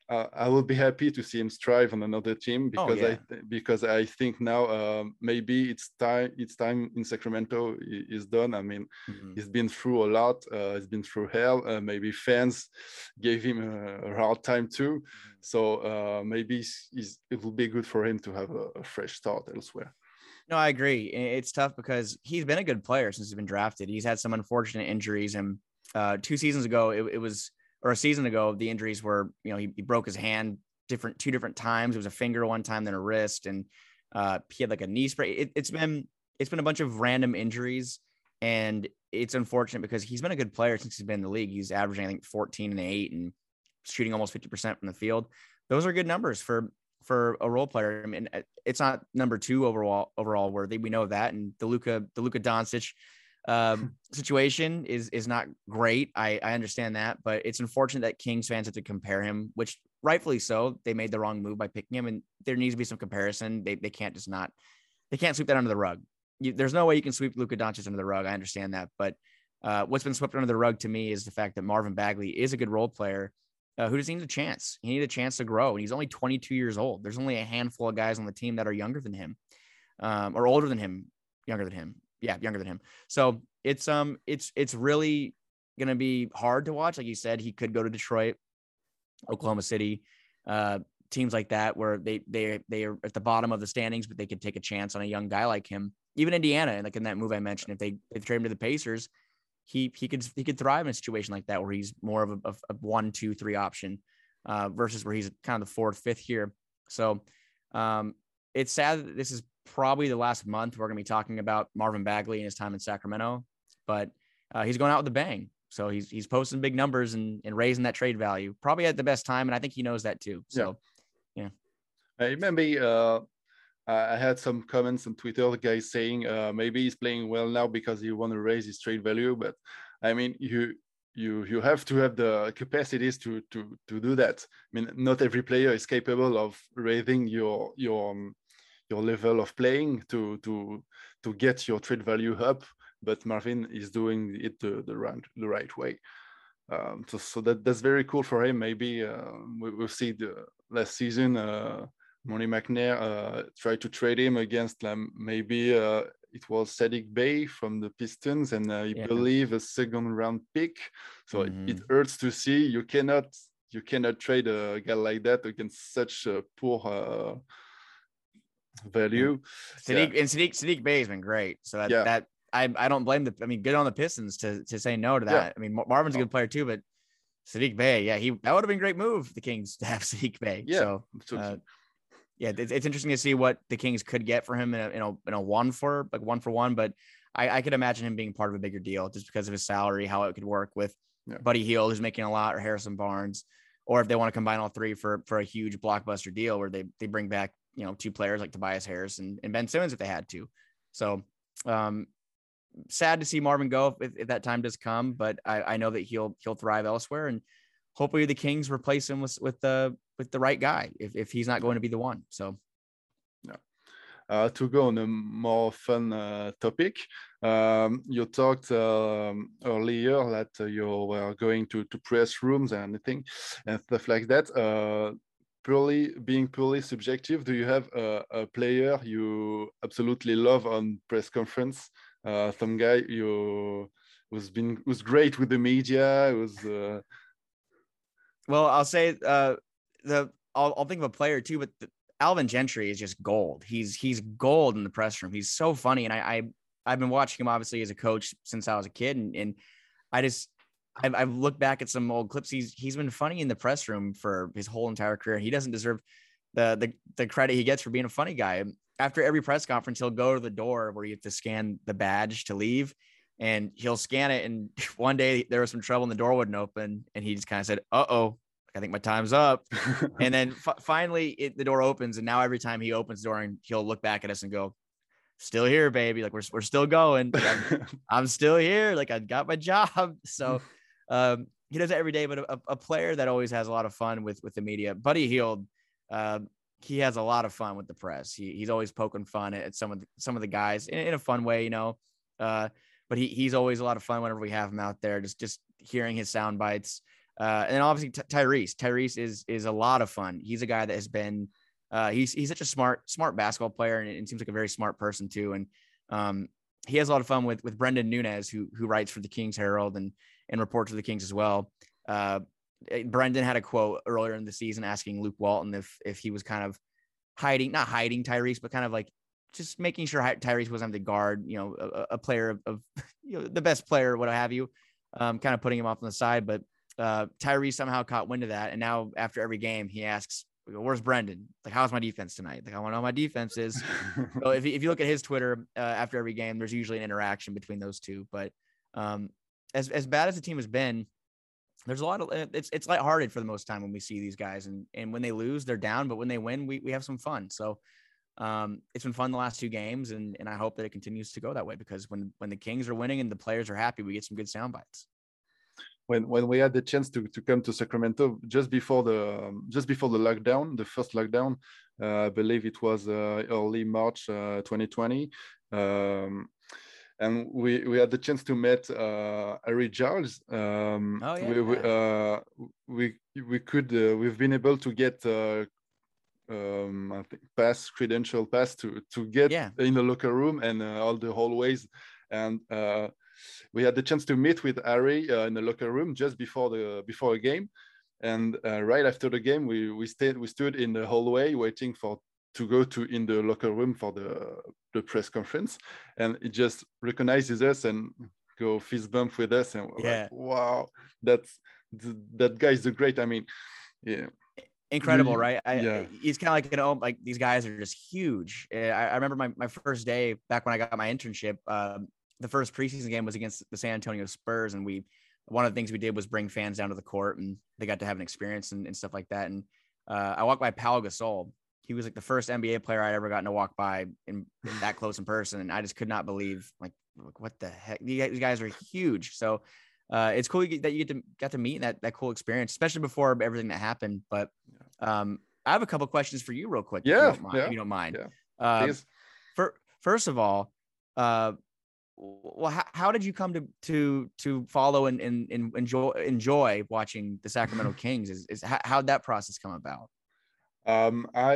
uh, I will be happy to see him strive on another team because oh, yeah. I because I think now um, maybe it's time it's time in Sacramento is done. I mean, mm-hmm. he's been through a lot. Uh, he's been through hell. Uh, maybe fans gave him a, a hard time too. Mm-hmm. So uh, maybe he's, he's, it will be good for him to have a, a fresh start elsewhere. No, I agree. It's tough because he's been a good player since he's been drafted. He's had some unfortunate injuries, and uh, two seasons ago, it, it was. or a season ago, the injuries were, you know, he, he broke his hand different, two different times. It was a finger one time, then a wrist, and uh, he had like a knee spray. It, it's been, it's been a bunch of random injuries, and it's unfortunate because he's been a good player since he's been in the league. He's averaging, I think, fourteen and eight and shooting almost fifty percent from the field. Those are good numbers for, for a role player. I mean, it's not number two overall, overall worthy. We know that. And the Luka, the Luka Doncic um situation is is not great. I I understand that, but it's unfortunate that Kings fans have to compare him, which rightfully so. They made the wrong move by picking him, and there needs to be some comparison. They they can't just not they can't sweep that under the rug. You, there's no way you can sweep Luka Doncic under the rug. I understand that, but uh, what's been swept under the rug to me is the fact that Marvin Bagley is a good role player uh, who just needs a chance. He needs a chance to grow, and he's only twenty-two years old. There's only a handful of guys on the team that are younger than him, um, or older than him, younger than him. Yeah, younger than him. So it's um it's it's really gonna be hard to watch. Like you said, he could go to Detroit, Oklahoma City, uh, teams like that where they they they are at the bottom of the standings, but they could take a chance on a young guy like him. Even Indiana, and like in that move I mentioned, if they if they trade him to the Pacers, he he could he could thrive in a situation like that where he's more of a, a, a one, two, three option uh, versus where he's kind of the fourth, fifth here. So um, it's sad that this is probably the last month we're going to be talking about Marvin Bagley and his time in Sacramento, but uh, he's going out with a bang. So he's, he's posting big numbers and, and raising that trade value probably at the best time. And I think he knows that too. So, yeah. yeah. Uh, maybe uh, I had some comments on Twitter, the guy saying uh, maybe he's playing well now because he want to raise his trade value. But I mean, you, you, you have to have the capacities to, to, to do that. I mean, not every player is capable of raising your, your, um, your level of playing to to to get your trade value up, but Marvin is doing it the the right the right way. Um, so so that that's very cool for him. Maybe uh, we will see the last season. Uh, Monty McNair uh, tried to trade him against um, maybe uh, it was Saddiq Bey from the Pistons, and uh, I yeah. believe a second round pick. So mm-hmm. it, it hurts to see. You cannot you cannot trade a guy like that against such a poor. Uh, value. Saddiq yeah. and Saddiq Saddiq Bey has been great. So that yeah. that I I don't blame the I mean good on the Pistons to to say no to that. Yeah. I mean Marvin's a good player too, but Saddiq Bey, yeah, he that would have been a great move for the Kings to have Saddiq Bey. Yeah. So uh, yeah, it's, it's interesting to see what the Kings could get for him in a in a, in a one for like one for one, but I, I could imagine him being part of a bigger deal just because of his salary, how it could work with yeah. Buddy Hield, who's making a lot, or Harrison Barnes, or if they want to combine all three for for a huge blockbuster deal where they they bring back, you know, two players like Tobias Harris and, and Ben Simmons if they had to. So um, sad to see Marvin go if, if that time does come, but I, I know that he'll he'll thrive elsewhere, and hopefully the Kings replace him with with the with the right guy if if he's not going to be the one. So yeah. Uh, to go on a more fun uh, topic, um, you talked um, earlier that uh, you were going to, to press rooms and anything and stuff like that. Uh, purely being purely subjective, do you have a, a player you absolutely love on press conference? Uh, some guy you who's been who's great with the media, who's uh... well, I'll say uh, the I'll, I'll think of a player too, but the, Alvin Gentry is just gold. He's he's gold in the press room. He's so funny, and I, I I've been watching him obviously as a coach since I was a kid, and and I just I've, I've looked back at some old clips. He's he's been funny in the press room for his whole entire career. He doesn't deserve the the the credit he gets for being a funny guy. After every press conference, he'll go to the door where you have to scan the badge to leave, and he'll scan it. And one day there was some trouble, and the door wouldn't open, and he just kind of said, "Uh oh. I think my time's up." And then f- finally it, the door opens, and now every time he opens the door, and he'll look back at us and go, "Still here, baby. Like we're, we're still going. Like, I'm, I'm still here. Like I got my job." So um, he does it every day, but a, a player that always has a lot of fun with, with the media, Buddy Hield, uh, he has a lot of fun with the press. He, he's always poking fun at some of the, some of the guys in, in a fun way, you know, uh, but he, he's always a lot of fun whenever we have him out there, just, just hearing his sound bites. Uh, and then obviously Ty- Tyrese. Tyrese is is a lot of fun. He's a guy that has been uh, he's he's such a smart smart basketball player, and it seems like a very smart person too. And um, he has a lot of fun with with Brendan Nunez, who who writes for the Kings Herald and and reports for the Kings as well. Uh, Brendan had a quote earlier in the season asking Luke Walton if if he was kind of hiding, not hiding Tyrese, but kind of like just making sure Tyrese wasn't the guard, you know, a, a player of, of, you know, the best player, what have you, um, kind of putting him off on the side. But uh, Tyrese somehow caught wind of that. And now after every game, he asks, where's Brendan? Like, how's my defense tonight? Like, I want to know how my defense is. So if, if you look at his Twitter uh, after every game, there's usually an interaction between those two. But um, as, as bad as the team has been, there's a lot of, it's, it's lighthearted for the most time when we see these guys, and, and when they lose, they're down, but when they win, we, we have some fun. So um, it's been fun the last two games, and, and I hope that it continues to go that way, because when, when the Kings are winning and the players are happy, we get some good sound bites. When, when we had the chance to, to come to Sacramento just before the um, just before the lockdown, the first lockdown, uh, I believe it was uh, early March uh, twenty twenty, um, and we, we had the chance to meet uh, Harry Giles. Um, oh yeah. We we, uh, we we could uh, we've been able to get uh, um, I think pass credential pass to to get yeah. in the locker room and uh, all the hallways, and uh, we had the chance to meet with Harry uh, in the locker room just before the before a game, and uh, right after the game, we we stayed we stood in the hallway waiting for to go to in the locker room for the the press conference, and it just recognizes us and go fist bump with us, and we're yeah. like, wow, that's that guy is the great. I mean, yeah. Incredible, right? I, yeah. He's kind of like, you know, like these guys are just huge. I, I remember my, my first day back when I got my internship. Um, the first preseason game was against the San Antonio Spurs, and we one of the things we did was bring fans down to the court, and they got to have an experience and, and stuff like that. And uh, I walked by Pau Gasol. He was like the first N B A player I'd ever gotten to walk by in, in that close in person, and I just could not believe, like, what the heck? These guys are huge. So uh, it's cool that you get to got to meet that that cool experience, especially before everything that happened. But um, I have a couple questions for you, real quick. Yeah, if you don't mind. yeah, if you don't mind. Yeah. Uh, for, first of all, uh, well, how, how did you come to to to follow and, and, and enjoy enjoy watching the Sacramento Kings? Is is how how'd that process come about? Um, I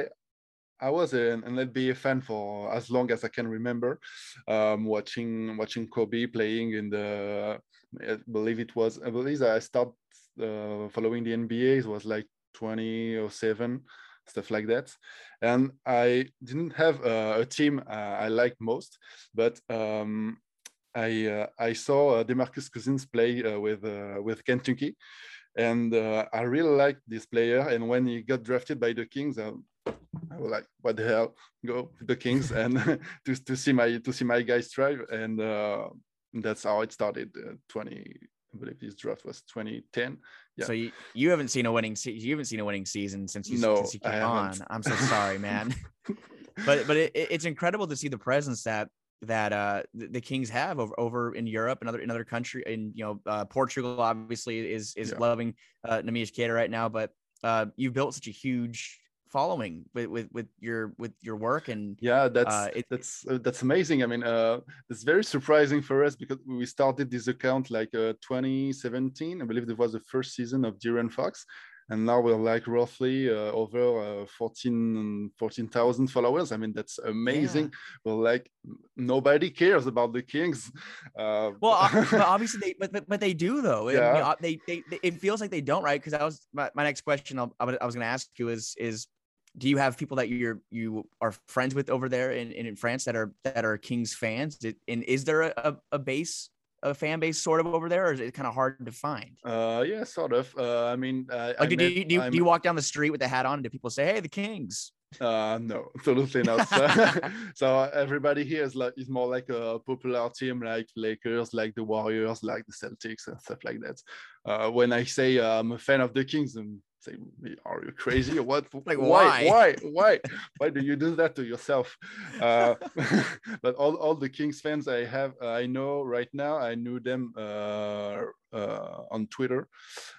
I was an, an N B A fan for as long as I can remember. Um, watching watching Kobe playing in the, I believe it was I believe I started uh, following the N B A. It was like twenty oh seven, stuff like that. And I didn't have uh, a team uh, I liked most, but um, I uh, I saw uh, DeMarcus Cousins play uh, with uh, with Kentucky, and uh, I really liked this player. And when he got drafted by the Kings, uh, I was like, "What the hell? Go to the Kings!" and to to see my to see my guys thrive. And uh, that's how it started. Uh, Twenty, I believe this draft was twenty ten. Yeah. So you, you haven't seen a winning se- you haven't seen a winning season since you, no, since you came on. I'm so sorry, man. but but it, it's incredible to see the presence that that uh the, the Kings have over, over in Europe and other in other country. In you know uh, Portugal obviously is is yeah. loving uh, Neemias Queta right now, but uh, you've built such a huge following with, with with your with your work. And yeah, that's uh, it, that's uh, that's amazing. I mean, uh it's very surprising for us because we started this account like uh, twenty seventeen. I believe it was the first season of De'Aaron Fox, and now we're like roughly uh, over uh, fourteen thousand followers. I mean, that's amazing. Yeah. Well, like nobody cares about the Kings. Uh, well, but obviously they, but, but but they do though. Yeah. And, you know, they, they they it feels like they don't, right? Because I was my, my next question I'll, I was going to ask you is is do you have people that you're you are friends with over there in, in France that are that are Kings fans? And is there a, a base? a fan base sort of over there, or is it kind of hard to find? Uh, yeah, sort of. Uh, I mean, I, like, I do, met, you, do, you, do you walk down the street with the hat on, and do people say, "Hey, the Kings"? Uh, no, absolutely not. so, so everybody here is like is more like a popular team, like Lakers, like the Warriors, like the Celtics, and stuff like that. Uh, when I say uh, I'm a fan of the Kings, and say, "Are you crazy or what? Like why? Why? Why? Why do you do that to yourself?" Uh, but all, all the Kings fans I have, uh, I know right now, I knew them uh, uh, on Twitter.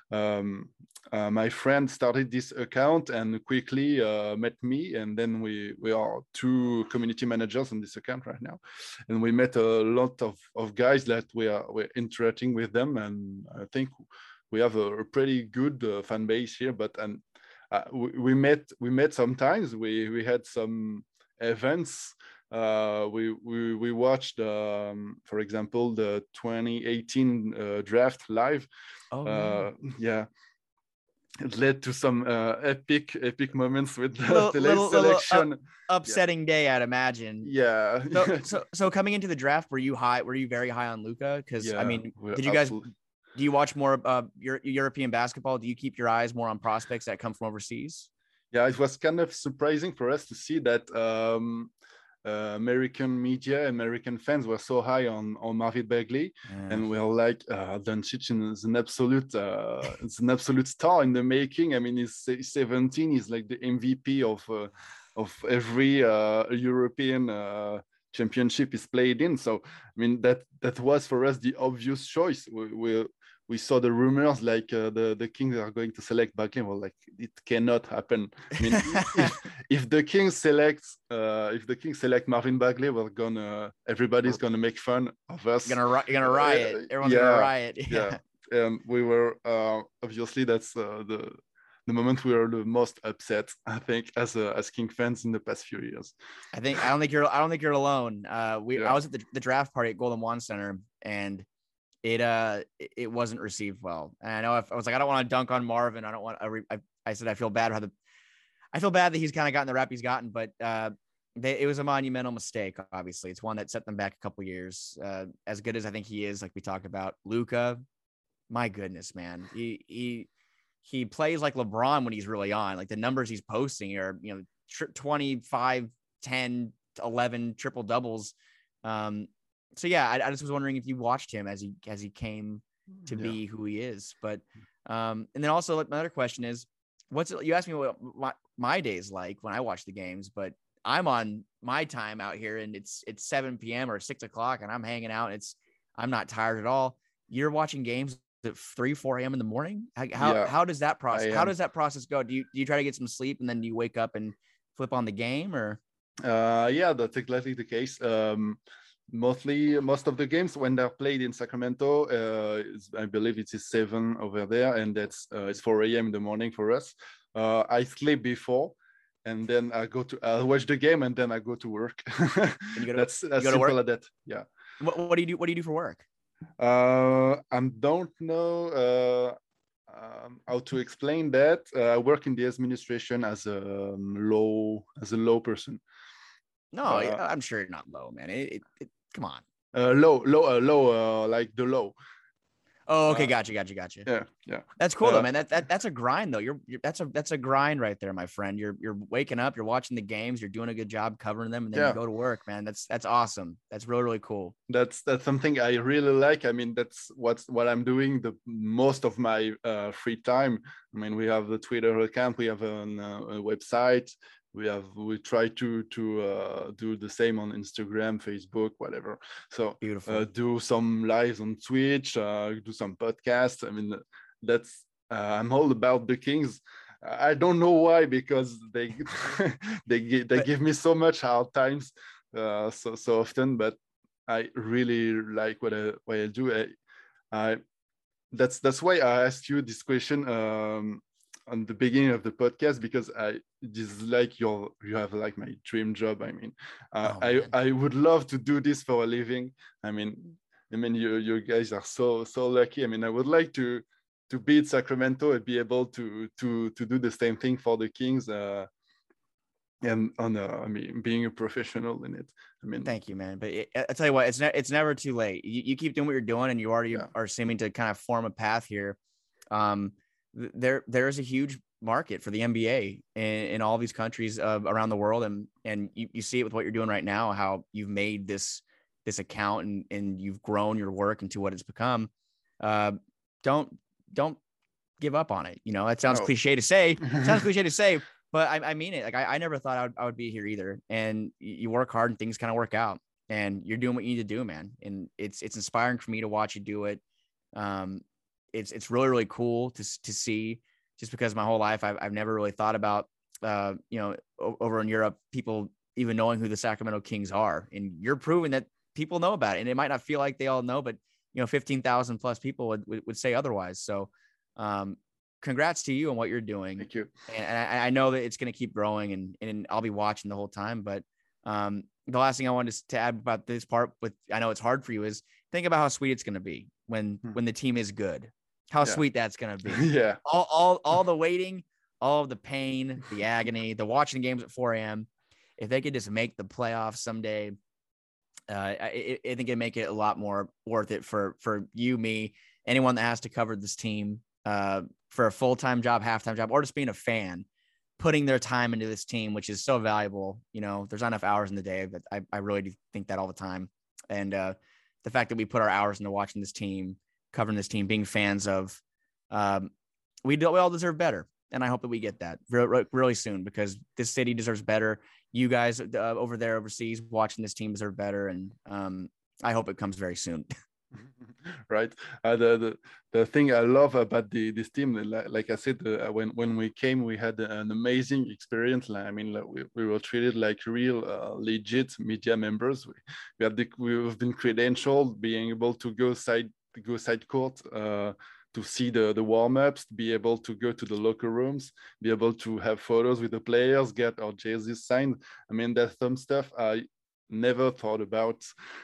Um, uh, my friend started this account and quickly uh, met me, and then we we are two community managers on this account right now, and we met a lot of, of guys that we are we're interacting with them, and I think we have a, a pretty good uh, fan base here. But and uh, we, we met we met sometimes. We we had some events. Uh, we we we watched, um, for example, the twenty eighteen uh, draft live. Oh, uh, yeah. It led to some uh, epic, epic moments with the, little, the late little, little selection. up, upsetting yeah. day, I'd imagine. Yeah. So, so, so coming into the draft, were you high? Were you very high on Luka? Because yeah, I mean, did you guys? Absolutely. Do you watch more uh, Euro- European basketball? Do you keep your eyes more on prospects that come from overseas? Yeah, it was kind of surprising for us to see that um, uh, American media, American fans were so high on, on Marvin Bagley, yeah. and we we're like, uh, Doncic is an absolute, uh, it's an absolute star in the making. I mean, he's seventeen. He's like the M V P of uh, of every uh, European uh, championship he's played in. So, I mean, that that was for us the obvious choice. We we, we saw the rumors like uh, the the Kings are going to select Bagley. Well, like it cannot happen. I mean, if, if the Kings select uh, if the Kings select Marvin Bagley, we're gonna everybody's gonna make fun of us. You're gonna you're gonna riot. Uh, Everyone's yeah, gonna riot. Yeah. yeah, and we were uh, obviously that's uh, the the moment we were the most upset, I think, as a, as King fans in the past few years. I think I don't think you're I don't think you're alone. Uh, we yeah. I was at the, the draft party at Golden One Center, and it uh it wasn't received well. And I know if, I was like, I don't want to dunk on Marvin. I don't want. I, I, I said I feel bad how the I feel bad that he's kind of gotten the rap he's gotten, but uh, they, it was a monumental mistake. Obviously, it's one that set them back a couple years. Uh, as good as I think he is, like we talked about, Luka, my goodness, man, he he. He plays like LeBron when he's really on. Like the numbers he's posting are, you know, twenty-five, ten, eleven triple doubles. Um, so yeah, I, I just was wondering if you watched him as he as he came to yeah. be who he is. But um, and then also another question is, what's it, you asked me what my, my day's like when I watch the games, but I'm on my time out here and it's it's seven p.m. or six o'clock and I'm hanging out. And it's I'm not tired at all. You're watching games at three, four a.m. in the morning. How how, yeah, how does that process? How does that process go? Do you do you try to get some sleep and then do you wake up and flip on the game, or? Uh, yeah, that's exactly the case. Um, mostly, most of the games when they're played in Sacramento, uh, I believe it is seven over there, and that's uh, it's four a.m. in the morning for us. Uh, I sleep before, and then I go to I watch the game, and then I go to work. you go to, that's that's simple as that. Yeah. What what do you do? What do you do for work? Uh, I don't know uh, um, how to explain that. Uh, I work in the administration as a um, law as a law person. No, uh, I'm sure you're not low, man. It, it, it come on. Uh, low, low, uh, low, uh, like the law. Oh, okay, uh, gotcha, gotcha, gotcha. Yeah, yeah. That's cool, uh, though, man. That that that's a grind, though. You're, you're that's a that's a grind right there, my friend. You're you're waking up, you're watching the games, you're doing a good job covering them, and then yeah. you go to work, man. That's that's awesome. That's really really cool. That's that's something I really like. I mean, that's what's what I'm doing the most of my uh, free time. I mean, we have the Twitter account, we have an, uh, a website. We have we try to to uh, do the same on Instagram, Facebook, whatever. So beautiful. Uh, do some lives on Twitch, uh, do some podcasts. I mean, that's uh, I'm all about the Kings. I don't know why, because they they they but, give me so much hard times uh, so so often. But I really like what I what I do. I, I that's that's why I asked you this question. Um, on the beginning of the podcast, because I this is like your you have like my dream job. I mean, uh, oh, I I would love to do this for a living. I mean, I mean you you guys are so so lucky. I mean, I would like to to be in Sacramento and be able to to to do the same thing for the Kings. Uh, and on uh, I mean, being a professional in it. I mean, thank you, man. But it, I tell you what, it's ne- it's never too late. You, you keep doing what you're doing, and you already yeah. are seeming to kind of form a path here. Um, there there's a huge market for the N B A in, in all these countries uh, around the world, and and you, you see it with what you're doing right now, how you've made this this account and and you've grown your work into what it's become. Uh, don't don't give up on it. You know, that sounds oh. cliche to say. Sounds cliche to say, but I, I mean it. Like I, I never thought I would, I would be here either. And you work hard and things kind of work out, and you're doing what you need to do, man. And it's it's inspiring for me to watch you do it. Um, It's it's really, really cool to to see, just because my whole life I've, I've never really thought about, uh, you know, o- over in Europe, people even knowing who the Sacramento Kings are. And you're proving that people know about it. And it might not feel like they all know, but, you know, fifteen thousand plus people would, would, would say otherwise. So um, congrats to you on what you're doing. Thank you. And, and I, I know that it's going to keep growing, and, and I'll be watching the whole time. But um, the last thing I wanted to add about this part, with I know it's hard for you, is think about how sweet it's going to be when Hmm. when the team is good. How Yeah. sweet that's going to be. Yeah. All, all, all the waiting, all of the pain, the agony, the watching games at four a.m. If they could just make the playoffs someday, uh, I, I think it'd make it a lot more worth it for for you, me, anyone that has to cover this team uh, for a full-time job, half-time job, or just being a fan, putting their time into this team, which is so valuable. You know, there's not enough hours in the day, but I, I really do think that all the time. And uh, the fact that we put our hours into watching this team, covering this team, being fans of, um, we, do, we all deserve better. And I hope that we get that re- really soon, because this city deserves better. You guys uh, over there overseas watching this team deserve better. And um, I hope it comes very soon. Right. Uh, the, the the thing I love about the this team, like, like I said, uh, when when we came, we had an amazing experience. Like, I mean, like, we, we were treated like real uh, legit media members. We, we have the, we've been credentialed, being able to go side go side court. Uh, to see the, the warm-ups, be able to go to the locker rooms, be able to have photos with the players, get our jerseys signed. I mean, that's some stuff I never thought about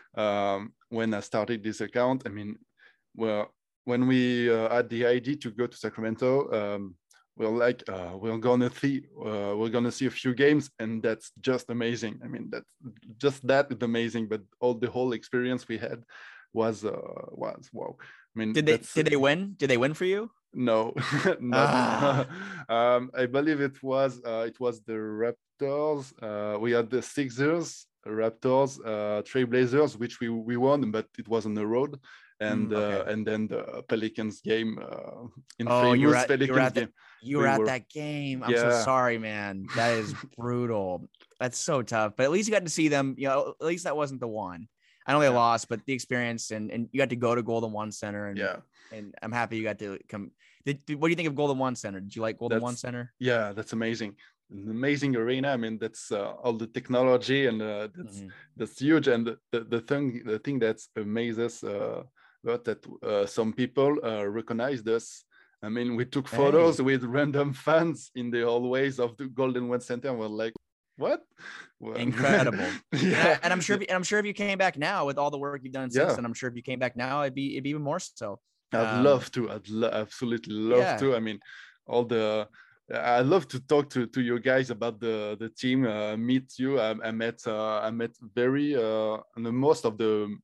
um, when I started this account. I mean, well, when we uh, had the idea to go to Sacramento, um, we're like, uh, we're gonna see, uh, we're gonna see a few games, and that's just amazing. I mean, that's just that is amazing. But all the whole experience we had was uh, was wow. I mean, Did they that's, did they win? Did they win for you? no, not. Ah. um, I believe it was uh, it was the Raptors. Uh, we had the Sixers, Raptors, uh, Trailblazers, which we we won, but it was on the road, and Mm, okay. uh, and then the Pelicans game, uh, in Oh, you were famous at you were Pelicans at that game. you were We at were, that game. I'm so yeah, sorry, man. That is brutal. That's so tough. But at least you got to see them. You know, at least that wasn't the one. I know they yeah, lost, but the experience, and and you got to go to Golden One Center, and yeah. and I'm happy you got to come. Did, did- what do you think of Golden One Center? Did you like Golden One That's Center? yeah, that's amazing. An amazing arena. I mean, that's uh, all the technology, and uh, that's Mhm. that's huge. And the, the, the thing the thing that's amazes uh, about that uh, some people uh, recognized us. I mean, we took photos Hey, with random fans in the hallways of the Golden One Center, and we're like, "What?" Well, incredible. And, yeah, I, and I'm sure, if, and I'm sure if you came back now with all the work you've done since yeah. then, I'm sure if you came back now, it'd be it'd be even more so. I'd Um, love to. I'd lo- absolutely love yeah. to. I mean, all the. I love to talk to, to you guys about the the team. Uh, meet you. I, I met. Uh, I met very uh, the most of the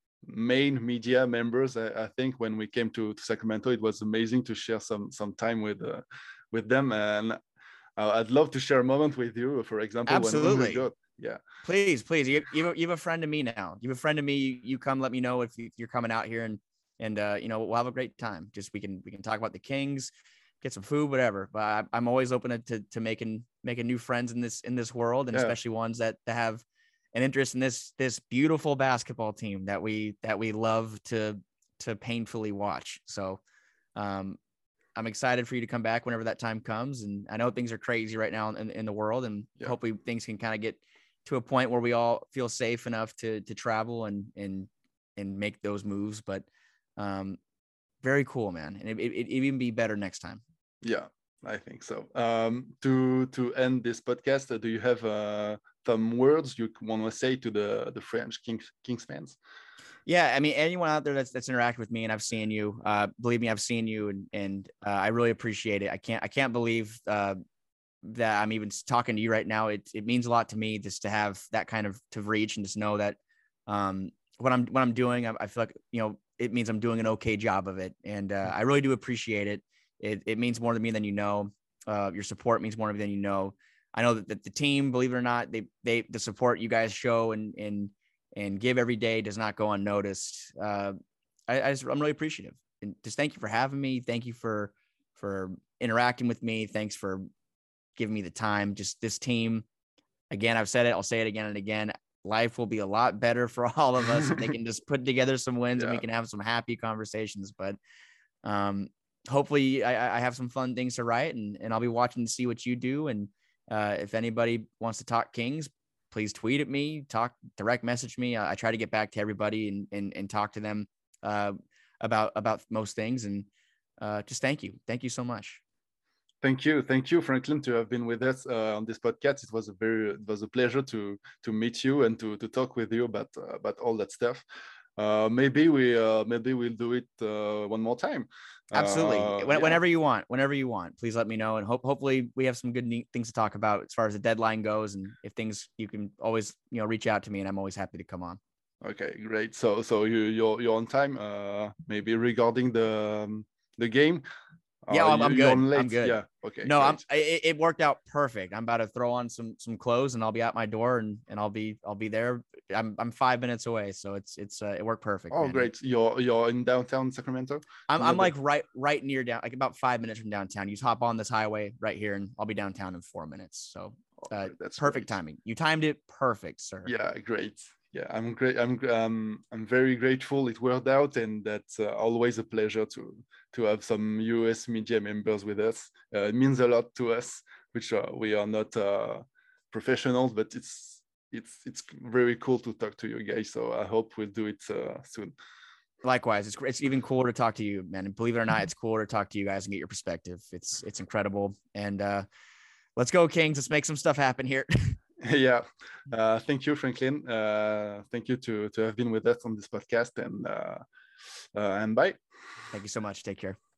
main media members. I, I think when we came to, to Sacramento, it was amazing to share some some time with uh, with them. And uh, I'd love to share a moment with you. For example, when, when we Absolutely. go. Yeah. Please, please. You, you, have, you have a friend of me now. You have a friend of me. You, you come, let me know if, you, if you're coming out here, and, and, uh, you know, we'll have a great time. Just, we can, we can talk about the Kings, get some food, whatever. But I, I'm always open to, to making, making new friends in this, in this world. And Yeah. especially ones that, that have an interest in this, this beautiful basketball team that we, that we love to, to painfully watch. So, um, I'm excited for you to come back whenever that time comes. And I know things are crazy right now in, in the world, and Yeah. hopefully things can kind of get to a point where we all feel safe enough to, to travel and, and, and make those moves. But um, very cool, man. And it, it, it even be better next time. Yeah, I think so. Um, to to end this podcast, uh, do you have uh, some words you want to say to the the French Kings Kings fans? Yeah, I mean, anyone out there that's that's interacted with me, and I've seen you. Uh, believe me, I've seen you, and and uh, I really appreciate it. I can't I can't believe uh, that I'm even talking to you right now. It it means a lot to me just to have that kind of to reach, and just know that um, what I'm what I'm doing, I, I feel like, you know, it means I'm doing an okay job of it, and uh, I really do appreciate it. It it means more to me than you know. Uh, your support means more to me than you know. I know that, that the team, believe it or not, they they the support you guys show and and and give every day does not go unnoticed. Uh, I, I just, I'm really appreciative, and just thank you for having me. Thank you for, for interacting with me. Thanks for giving me the time. Just this team, again, I've said it, I'll say it again and again. Life will be a lot better for all of us if they can just put together some wins, Yeah. and we can have some happy conversations. But um, hopefully I, I have some fun things to write, and, and I'll be watching to see what you do. And uh, if anybody wants to talk Kings, please tweet at me, talk, direct message me. I, I try to get back to everybody and, and, and talk to them uh, about, about most things. And uh, just thank you. Thank you so much. Thank you, thank you, Franklin, to have been with us uh, on this podcast. It was a very, it was a pleasure to to meet you and to to talk with you about uh, about all that stuff. Uh, maybe we uh, maybe we'll do it uh, one more time. Absolutely. Uh, when, yeah. Whenever you want, whenever you want, please let me know. And hope, hopefully we have some good neat things to talk about as far as the deadline goes. And if things, you can always, you know, reach out to me and I'm always happy to come on. Okay, great. So so you you're you're on time. Uh, maybe regarding the um, the game. Yeah, Uh, I'm, I'm you, good. You're on late. I'm good. Yeah. Okay. No, great. I'm. It, it worked out perfect. I'm about to throw on some some clothes and I'll be at my door and and I'll be I'll be there. I'm I'm five minutes away, so it's it's uh, it worked perfect. Oh, man. great. You're you're in downtown Sacramento. I'm Near I'm the- like right right near down, like about five minutes from downtown. You just hop on this highway right here, and I'll be downtown in four minutes. So Oh, uh, great. That's perfect great. timing. You timed it perfect, sir. Yeah, great. Yeah, I'm great. I'm um, I'm very grateful it worked out, and that's uh, always a pleasure to to have some U S media members with us. Uh, it means a lot to us, which uh, we are not uh, professionals, but it's it's it's very cool to talk to you guys. So I hope we'll do it uh, soon. Likewise, it's it's even cooler to talk to you, man. And believe it or not, it's cooler to talk to you guys and get your perspective. It's it's incredible. And uh, let's go, Kings. Let's make some stuff happen here. Yeah. Uh, thank you, Franklin. Uh, thank you to to have been with us on this podcast, and uh, uh, and bye. Thank you so much. Take care.